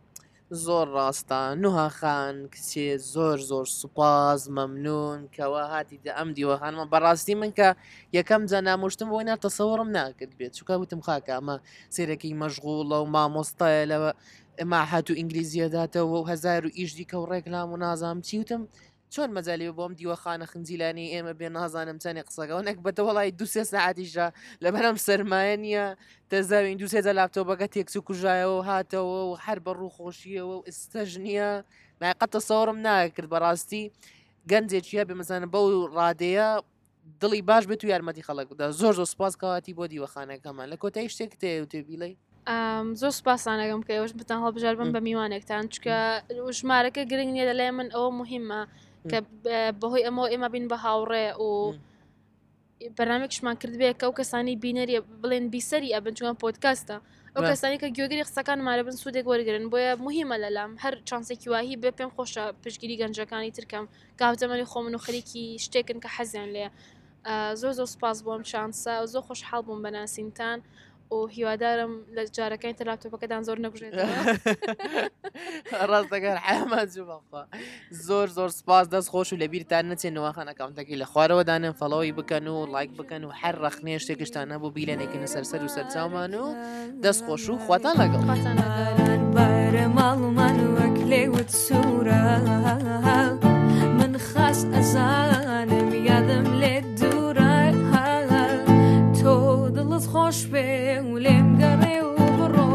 زۆر ڕاستە نوها خان کچێ زۆر زۆر سوپاز مەمنون کەوا هاتیتە ئەم دیوەخانمە بەڕاستی من کە یەکەم جا نامۆشتم بۆی ناتەسەوەڕم ناکرد بێت چووکە وتم خاکە ئەمە سێرەکەی مەشغوڵە و مامۆستایە لەوە ئەما هات و ئینگلیزیەداتەوە و هەزار و ئیش دیکە و ڕێکلام و نازام چی وتم چۆن مەجای بۆم دیوەخانە خنجیلانی ئێمە بێ نازانم چەندێ قسەکەەوە نەک بەتە وڵی دو سێ ساعتیشە لەبەرم سەرمایە نییە دەزاوین دو سێجە لاپتۆپەکە تێکچ و کوژایەوە هاتەوە و هەر بە ڕووخۆشیەوە و ئستەژ نییە نایقەتە سەوەڕم ناکرد بەڕاستی گەنجێکیە بمەزانە بەو ڕادەیە دڵی باش بێت و یارمەتی خەڵکدا زۆر زۆر سپاس کەواتی بۆ دیوەخانەکەمان لە کۆتایی شتێک تێ و تێبیڵی زۆر سپاسانەکەم کە ئێوەش بتان هەڵبژار بم بە میوانێکتان چکە ژمارەکە گرنگ نیە لەلای من ئەوە مهمە کە بەهۆی ئەمەوە ئێمە بین بە هاوڕێ و بەنامێکشمان کردبێت کە ئەو کەسانی بینەریە بڵێن بیسەری ئەبن چوان پۆدکاستە ئەو کەسانی کە گوێگری قسەکان مارە بن سوودێک وەرگن بۆیە مهمە لەلام هەر چانسێکی واهی بێ پێم خۆشە پشگیری گەنجەکانی ترکەم کاوتەمەری خۆمن و خەریکی شتێکن کە حەزیان لێ زۆر زۆر سپاس بۆم شانسە و زۆر خۆشحاڵ بووم بەناسینتان و هیوادارم لە جارەکەی تر لاپتۆپەکەدان زۆر نەبژێتەوە ڕاستەکە حەمەد جوبەخوا زۆر زۆر سپاس دەست خۆش و لەبیرتان نەچێن نەوەخانە ئەکاونتەکەی لە خوارەوەدانن فەڵەوەی بکەن و لایک بکەن و هەر ڕەخنێ شتێکشتان نەبوو بیلێنێکن سەرسەر و سەرچاومان و دەست خۆش و خواتان لەگەڵ بارە ماڵمان وەک لێوت سوورە من خاص ئەزانم یادم لێ دوورە تۆ دڵت خۆش بێ و لێم گەڕێ و بڕۆ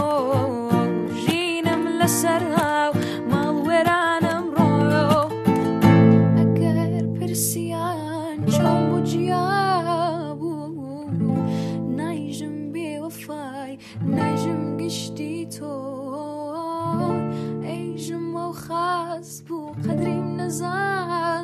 ژینم لەسەر هاو ماڵ وێرانم ڕۆ ئەگەر پرسیان چۆن بوو جیابوو نایژم بێوەفای نایژم گشتی تۆ ئەیژم و خاص بوو قەدریم نەزان